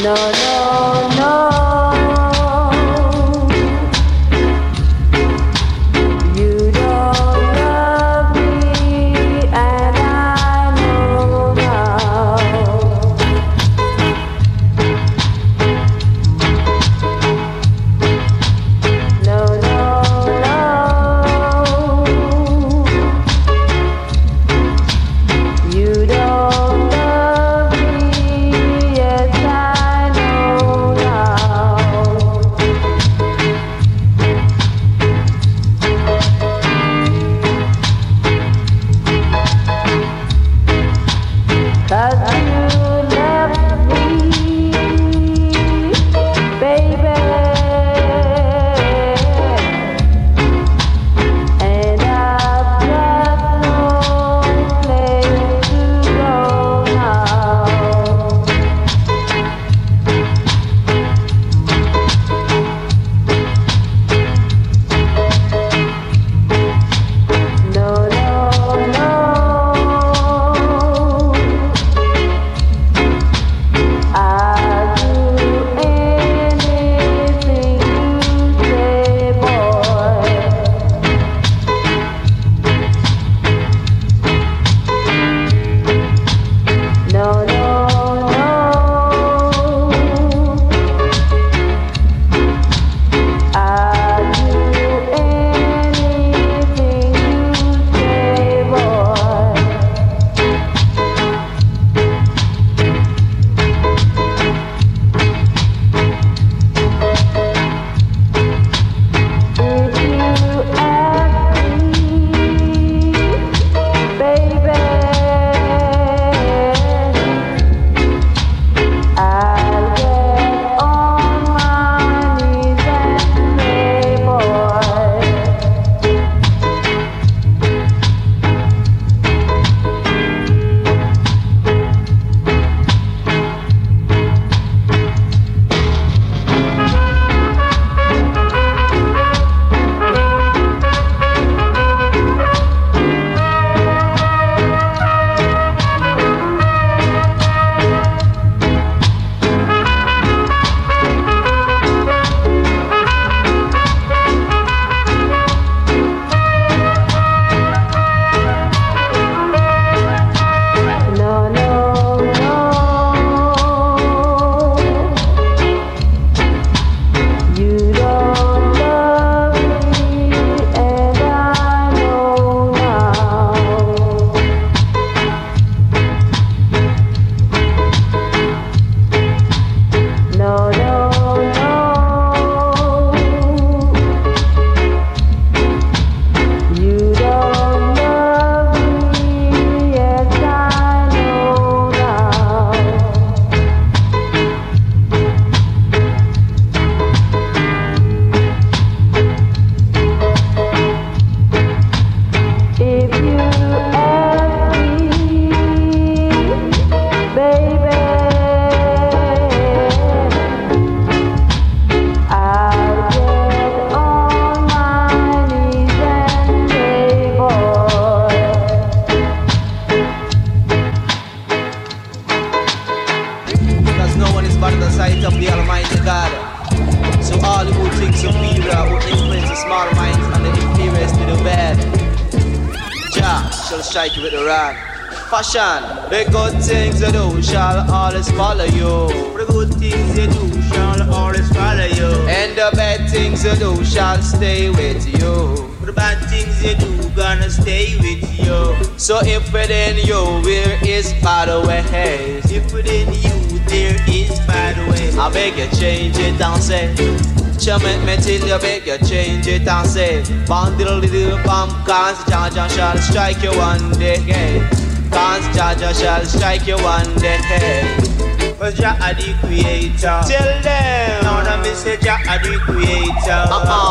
strike you with the rod. Fashion, the good things you do shall always follow you. The good things you do shall always follow you. And the bad things you do shall stay with you. The bad things you do gonna stay with you. So if within you there is bad ways, if within you there is bad ways, I beg you change it and say. Make me till you beg you change it and say Bandle little bam, cause Jaja shall strike you one day. Cause Jaja shall strike you one day. But Jah the creator. Tell them now that me say Jah the creator.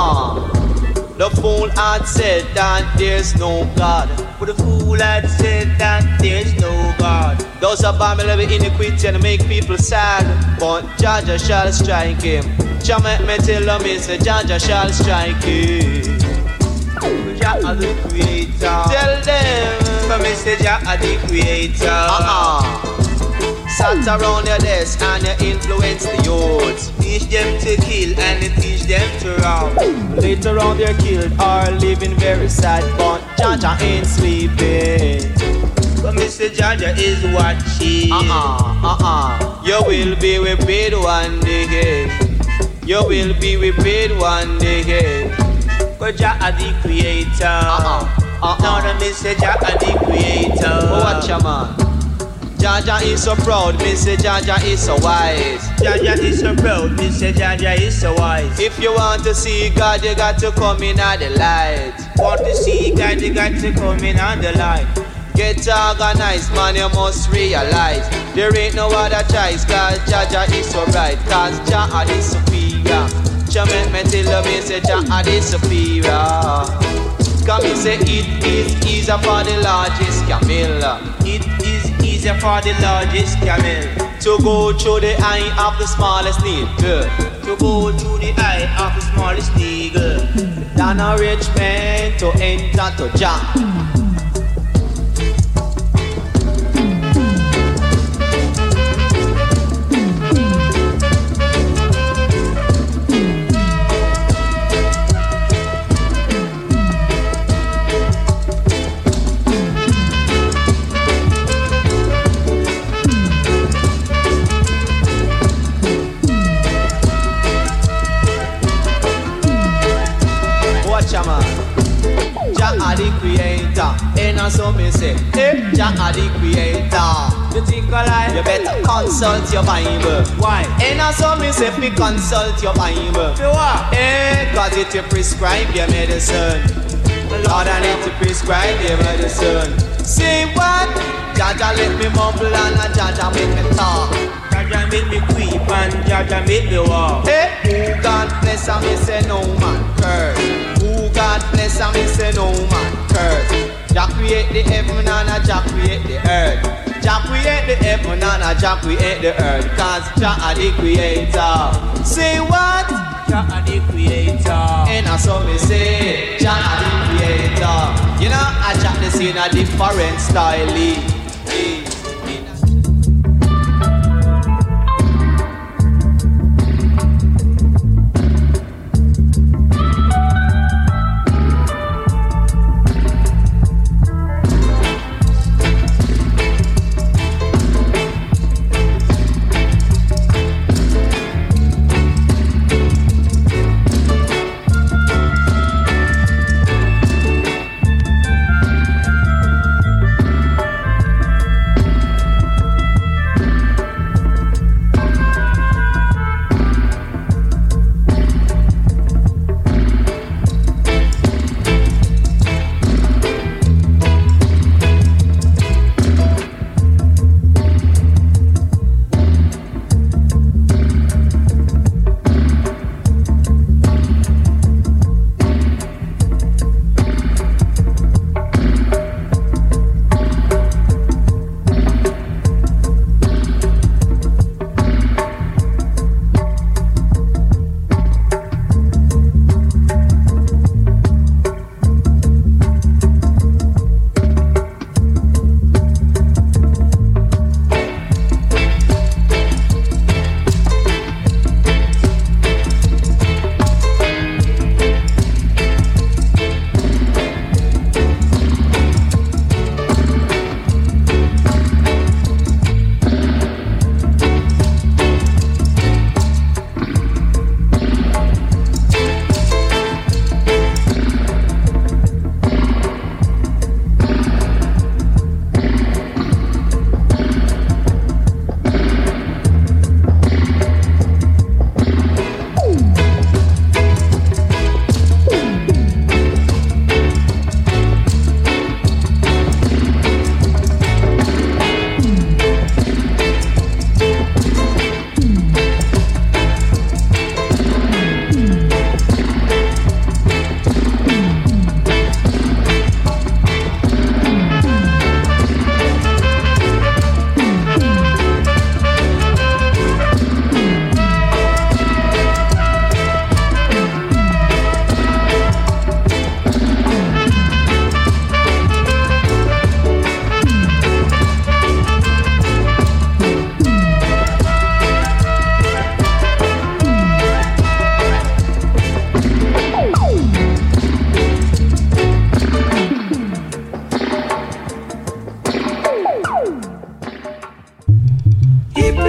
The fool had said that there's no God. But the fool had said that there's no God. Those are Bible iniquity and make people sad. But Jaja shall strike him. Jah make me tell them me say Jaja shall strike him. Jah the creator. Tell them for me say Jah the creator. Sat around your desk and you influence the youths. Teach them to kill and you teach them to rob. Later on they're killed or living very sad, but Jaja ain't sleeping. But Mr. Jaja is watching. You will be repaid one day. You will be repaid one day. Cause Jaja the creator. Now the Mr. Jaja the creator. Watch ya man. Jaja is so proud, Mr. Jaja is so wise. Jaja is so proud, Mr. Jaja is so wise. If you want to see God, you got to come in at the light. Want to see God, you got to come in at the light. Get organized, man, you must realize there ain't no other choice, cause Jaja is so right. Cause Jaja is superior. Jah make me tell you, say Jaja is superior. Come and say it is easier for the largest camel. It is easier for the largest camel to go through the eye of the smallest needle. To go through the eye of the smallest needle than a rich man to enter to Jah. The creator, and so me say, hey, Jah the creator. You think I lie? You better consult your Bible. Why? And so me say, be consult your Bible. For what? Cause it will prescribe your medicine. Lord, I need to prescribe your medicine. Say what? Jaja let me mumble and Jaja make me talk. Jaja make me creep and Jaja make me walk. Hey, who God bless and me say no man curse. God bless and me say no man curse. Jah create the heaven and Jah create the earth. Jah create the heaven and Jah create the earth. Cause Jah the creator. Say what? Jah the creator. And I saw me say Jah the creator. You know I Jah the see in a different style.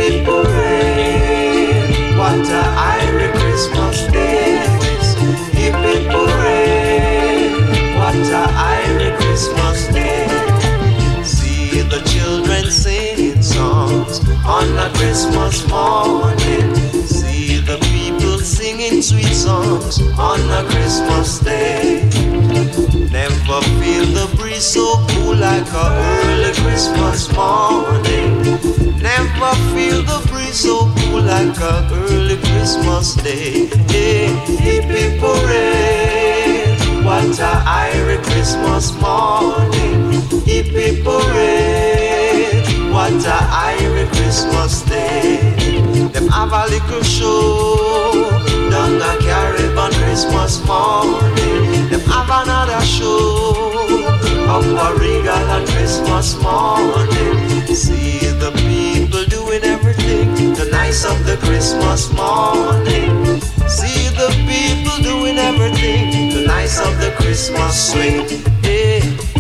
people rain. What a Irish Christmas day. Hip hip hooray. What a Irish Christmas day. See the children singing songs on a Christmas morning. See the people singing sweet songs on a Christmas day. Never feel the breeze so cool like a early Christmas morning. Never feel the breeze so cool like a early Christmas day. Hey, hip hip hooray. What a Irish Christmas morning. Hip hip hooray. What a Irish Christmas day. Them have a little show down a Caribbean Christmas morning. Them have another show up a Regal on Christmas morning. See the people doing everything the nice of the Christmas morning. See the people doing everything the nice of the Christmas swing. Hey.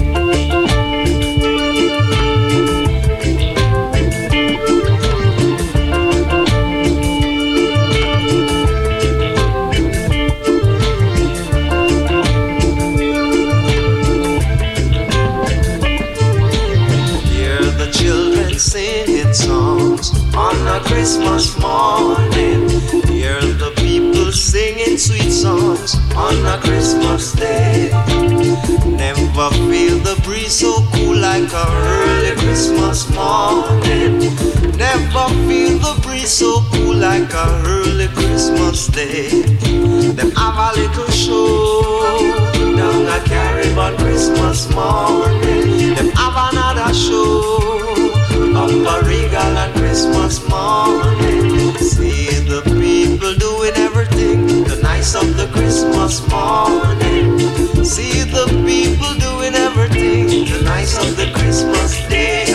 Singing songs on a Christmas morning. Hear the people singing sweet songs on a Christmas day. Never feel the breeze so cool like a early Christmas morning. Never feel the breeze so cool like a early Christmas day. Them have a little show down a Caribbean Christmas morning. Them have another show up a Regal on Christmas morning. See the people doing everything the nice of the Christmas morning. See the people doing everything the nice of the Christmas day.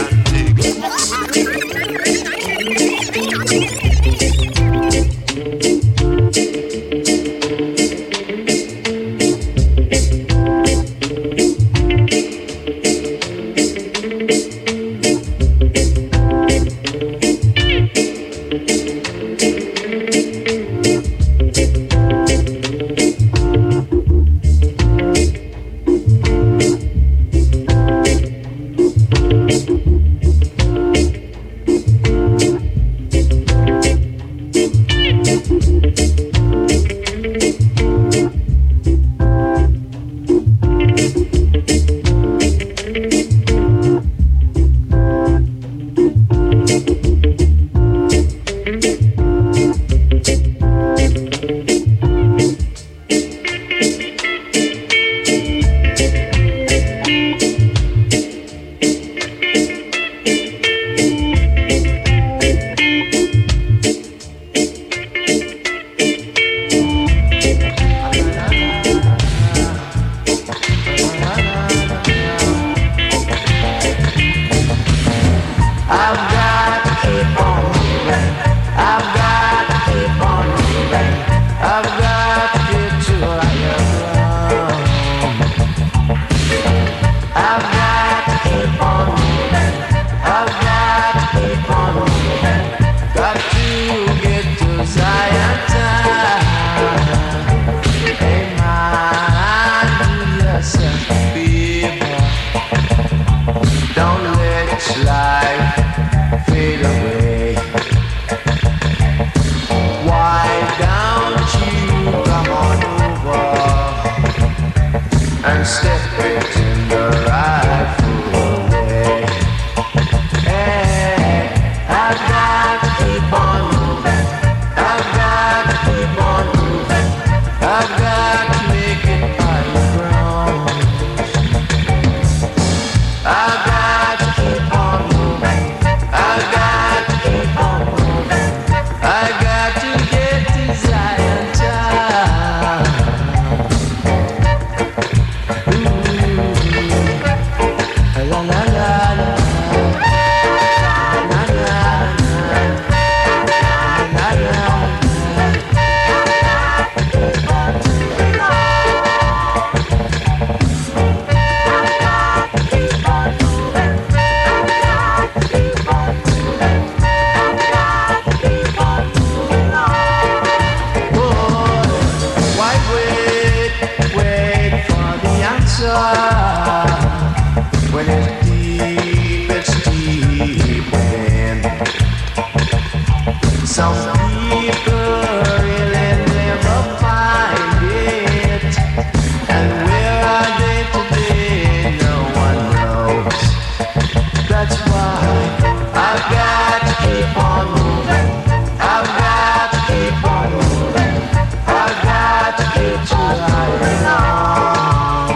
Some people really never find it. And where are they today? No one knows. That's why I've got to keep on moving. I've got to keep on moving. I've got to keep trying on.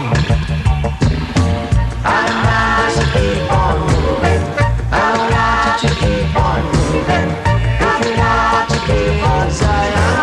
I must keep on moving. I want you to keep on moving. If you want to keep on Zion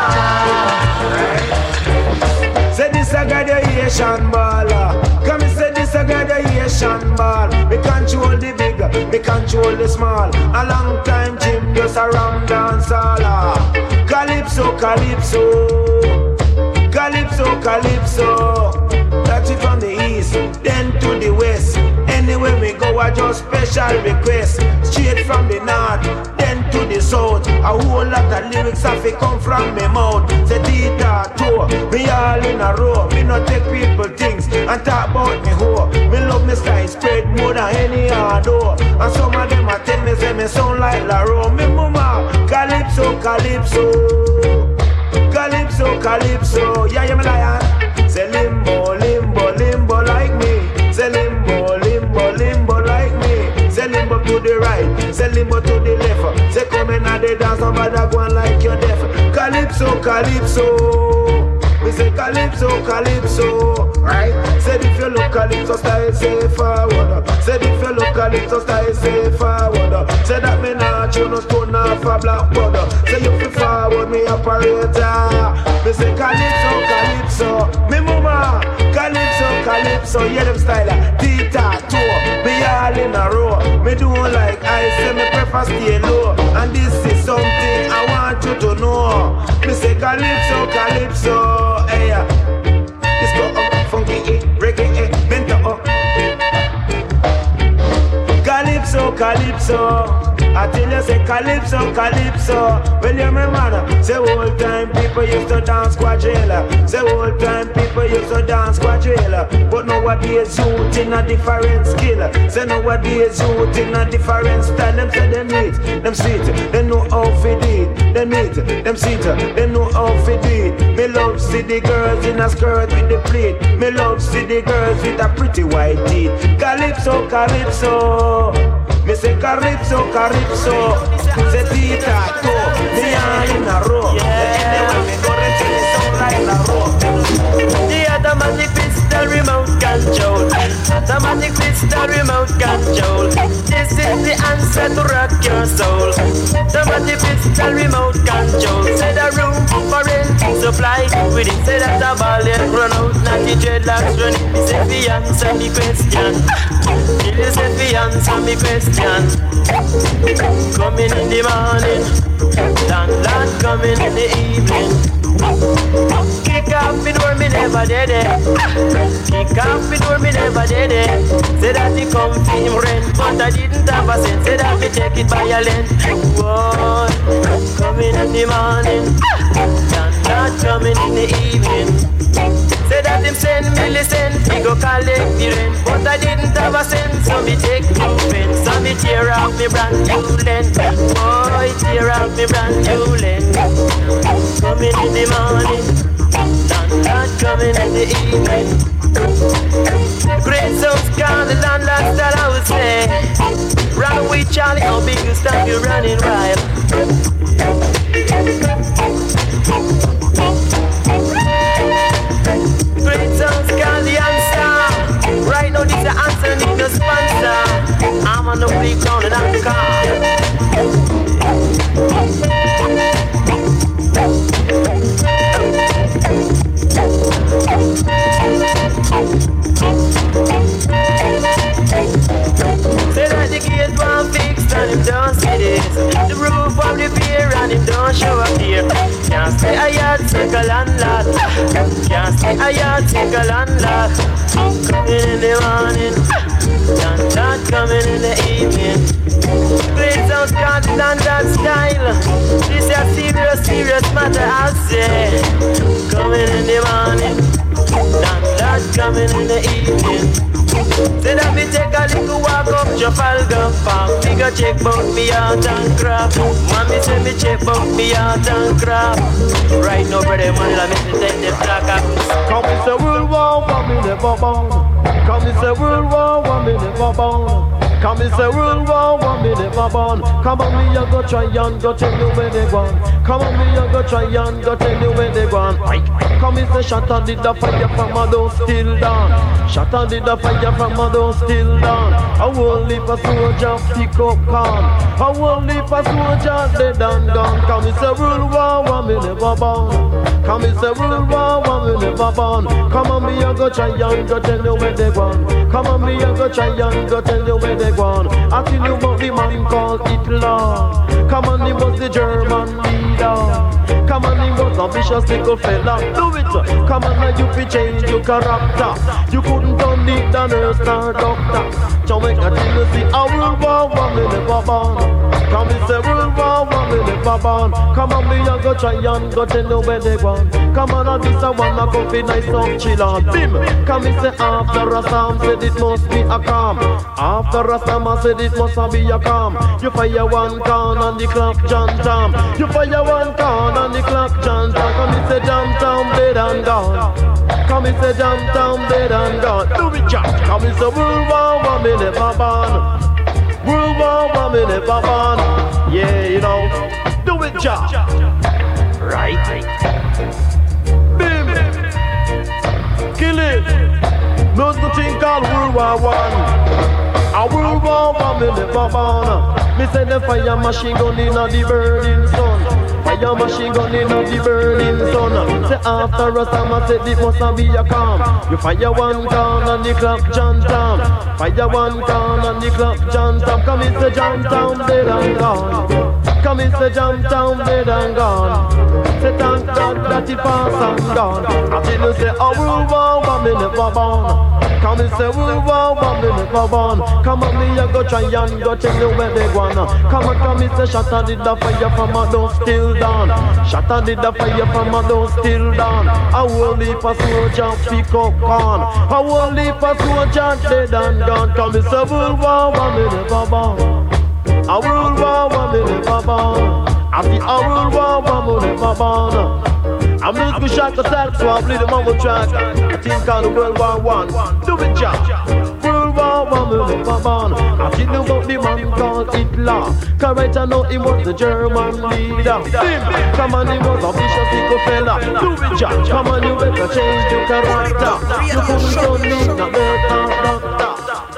town. Say this a graduation ball. Come say this a graduation ball. Me control the big, me control the small. A long time Jim just around dance all. Calypso, calypso, calypso, calypso. That's it from the east, then to the west. Anywhere we go, I just special request. Straight from the north, then to the south. A whole lot of lyrics have to come from me mouth. Say Tita, tour, me all in a row. Me not take people things and talk about me hoe. Me love me style spread more than any other. And some of them a tell me say me sound like Laro. Me mama, calypso, calypso, calypso, calypso. Yeah, you me lion. Say limbo, limbo, limbo like me. Say limbo, limbo, limbo like me. Say limbo to the right, say limbo to the left. Say come in and they dance, nobody go on like you're deaf. Calypso, calypso. We say calypso, calypso. Right? Say if you look calypso style, say forward. Say if you look calypso style, say forward. Say that me not you no stone off a blackboard. Say you feel forward, me operator. Me say calypso, calypso. Me mama, calypso, calypso. Yeah them style, Tita, tour. Me all in a row. Me do like I say me prefer stay low. And this is something I want you to know. Me say calypso, calypso. Hey, let's go up, funky, reggae, bento up. Calypso, calypso. I tell you, say calypso, calypso. Well, you remember, say old time people used to dance quadrilla. Say old time people used to dance quadrilla. But nowadays youth in a different skill. Say nowadays youth in a different style. Them say them neat, them sweet, they know how to do it. Them neat, them sweet, they know how to do it. Me love see the girls in a skirt with the pleat. Me love see the girls with a pretty white teeth. Calypso, calypso. Me say calypso, calypso. Say Tita, to me all in a row. Anyway, me go and tell it sound like a row. The automatic pistol remote control. Automatic pistol remote control. This is the answer to rock your soul. Automatic pistol remote control. Say the room for rent supply. With it say that the ball yet run out. Not the dreadlocks run. Me say the answer me question. Me say the answer me question. Coming in the morning, landlord coming in the evening. Kick off the door, me never did it. Kick off the door, me never did it. Say that he come for him rent, but I didn't have a cent. Say that me take it by a length. Boy, coming in the morning, landlord coming in the evening. Say that him send me listen, he go collect the rent, but I didn't have a cent, so me take two pence. So me tear off me brand new lens. Boy, tear off me brand new lens. Coming in the morning, landlord coming in the evening. Great sounds call the landlord that I would say. Run away Charlie, how big you stop you running wild. Great sounds call the answer. Right now this the answer, need no sponsor. I'm on the way down and I'm calm. Say that the gate one fixed and him don't see this. The roof of the pier and him don't show up here. Can't stay a yard, take a landlord. Can't stay a yard, take a landlord. Coming in the morning, landlord coming in the evening. Please don't call the landlord style. This is a serious, serious matter, I'll say. Coming in the morning, landlord coming in the evening. Say that me take a little walk up Trafalgar Park. Me go check bout me art and craft. Mommy say me check bout me art and craft. Right now, brother, man, let me take the flag up. Come it's a World War I, me never born. Come it's a World War I, me never born. Come it's a World War I, me never born. Come on, me a go try and go tell you where they gone. Come on, me a go try and go tell you where they gone. Come it's a shot and did the fire from a door still down. Shot and did the fire from a door still down. I won't leave a soldier pick up gun. I won't leave a soldier dead and gone. Come it's a World War I, me never born. Come it's a World War I, me never born. Come on, me a go try and go tell you where they gone. Come on, me a go try and go tell you where they gone. I tell you about the man called Hitler. Come on, he was the German leader. Come on, he was a vicious little fella. Do it. Come on, now you fi change your character. You couldn't turn it the nurse nor doctor. Jamaica till you see a World War I, me never born. Come it's a World War I, me never born. Come on, me a go try and go tell you where they gone. Come on, this a one a go fi nice up chill on. Bim. Come it's a after a storm, said it must be a calm. After a storm, I said it must be a calm. You fire one can and the clock jam jam. You fire one can and the clock jam jam. Come it's a jam jam dead and gone. Come it's a jam jam dead and gone. Do it jam. Come it's a World War I, me never born. World War I, me never born. Yeah, you know. Do it jam. Right. Bim. Kill it. There's the thing called World War I. A World War I, me never born. Me say the fire machine gun in the burning sun. Fire machine gun in the burning sun. Say after a storm, I said it must be a calm. You fire one can and the clock jam jam. Fire one can and the clock jam jam. Come it's a jam down dead and gone. Come it's a jam down dead and gone. Say thank God that it pass and gone. I tell you say a World War I, me never born. Come and say World War I, me never born. Come on, me a go try and go tell you where they gone. Come on, come and say shot and did the fire from a door still down. Shot and did the fire from a door still down. I will leave a soldier pick up gun. I will leave a soldier dead and gone. Come and say World War I, me never born. A World War I, me never born. I see a World War I, me never born. I'm just gonna shock the sack, so I'll play the mumble track. I think called the World War I. Do it, Jack. World War I, me never born. I think about the man called Hitler. Cause right I know he was the German leader. Bim! Come on, he was a vicious little fella. Do it, Jack. Come on, you better change your character. You couldn't turn me, not doctor.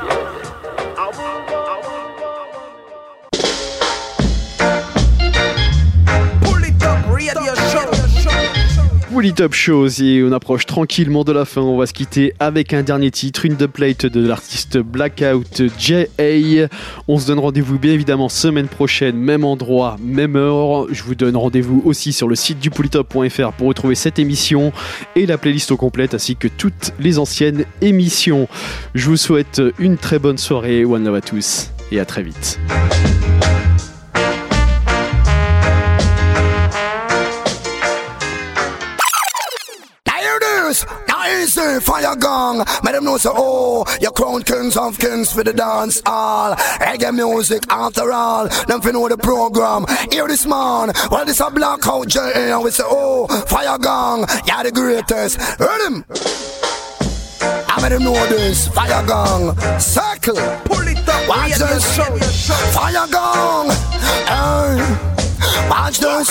Pull It Up Show, et on approche tranquillement de la fin. On va se quitter avec un dernier titre, une dubplate de l'artiste Blackout J.A. On se donne rendez-vous bien évidemment semaine prochaine, même endroit, même heure. Je vous donne rendez-vous aussi sur le site du polytop.fr pour retrouver cette émission et la playlist au complète ainsi que toutes les anciennes émissions. Je vous souhaite une très bonne soirée. One love à tous et à très vite. Easy fire gang, make them know say oh, you crown kings of kings for the dance hall. Reggae music after all, them fi know the program. Hear this man, well this a Blackout J.A. and we say oh, fire gang, you're the greatest. Heard him? I made them know this, fire gang. Circle, pull it up, watch this, fire gang. Watch this,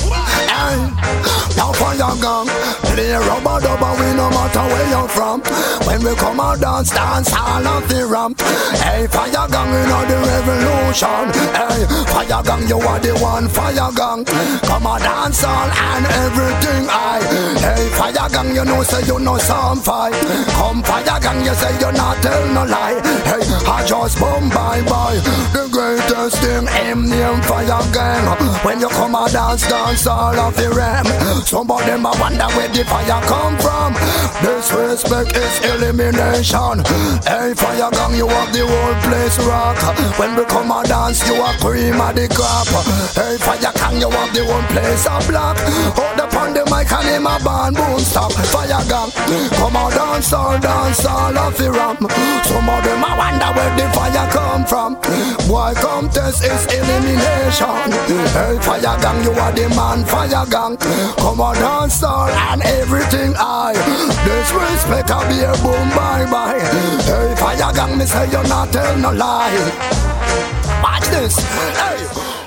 now fire gang. Play rubber dubber, we no matter where you're from. When we come out dance all of the ramp. Hey, fire gang, you know the revolution. Hey, fire gang, you are the one, fire gang. Come out dance all and everything I. Hey, fire gang, you know say you know some fight. Come fire gang, you say you not tell no lie. Hey, I just boom bye bye. The greatest thing, him name fire gang. When you come out dance all of the ram. Some of them I wonder where the the fire come from. Disrespect is elimination. Hey, fire gang, you have the whole place rock. When we come and dance, you are cream of the crop. Hey, fire gang, you have the whole place a black. Hold up on the mic and him a band boom stop. Fire gang, come on dance all of the ram. Some of them I wonder where the fire come from. Boy contest is elimination. Hey, fire gang, you are the man, fire gang. Come on dance all and everything I. Disrespect I be a boom bye bye. Hey, fire gang, me say you not tell no lie. Watch this, hey.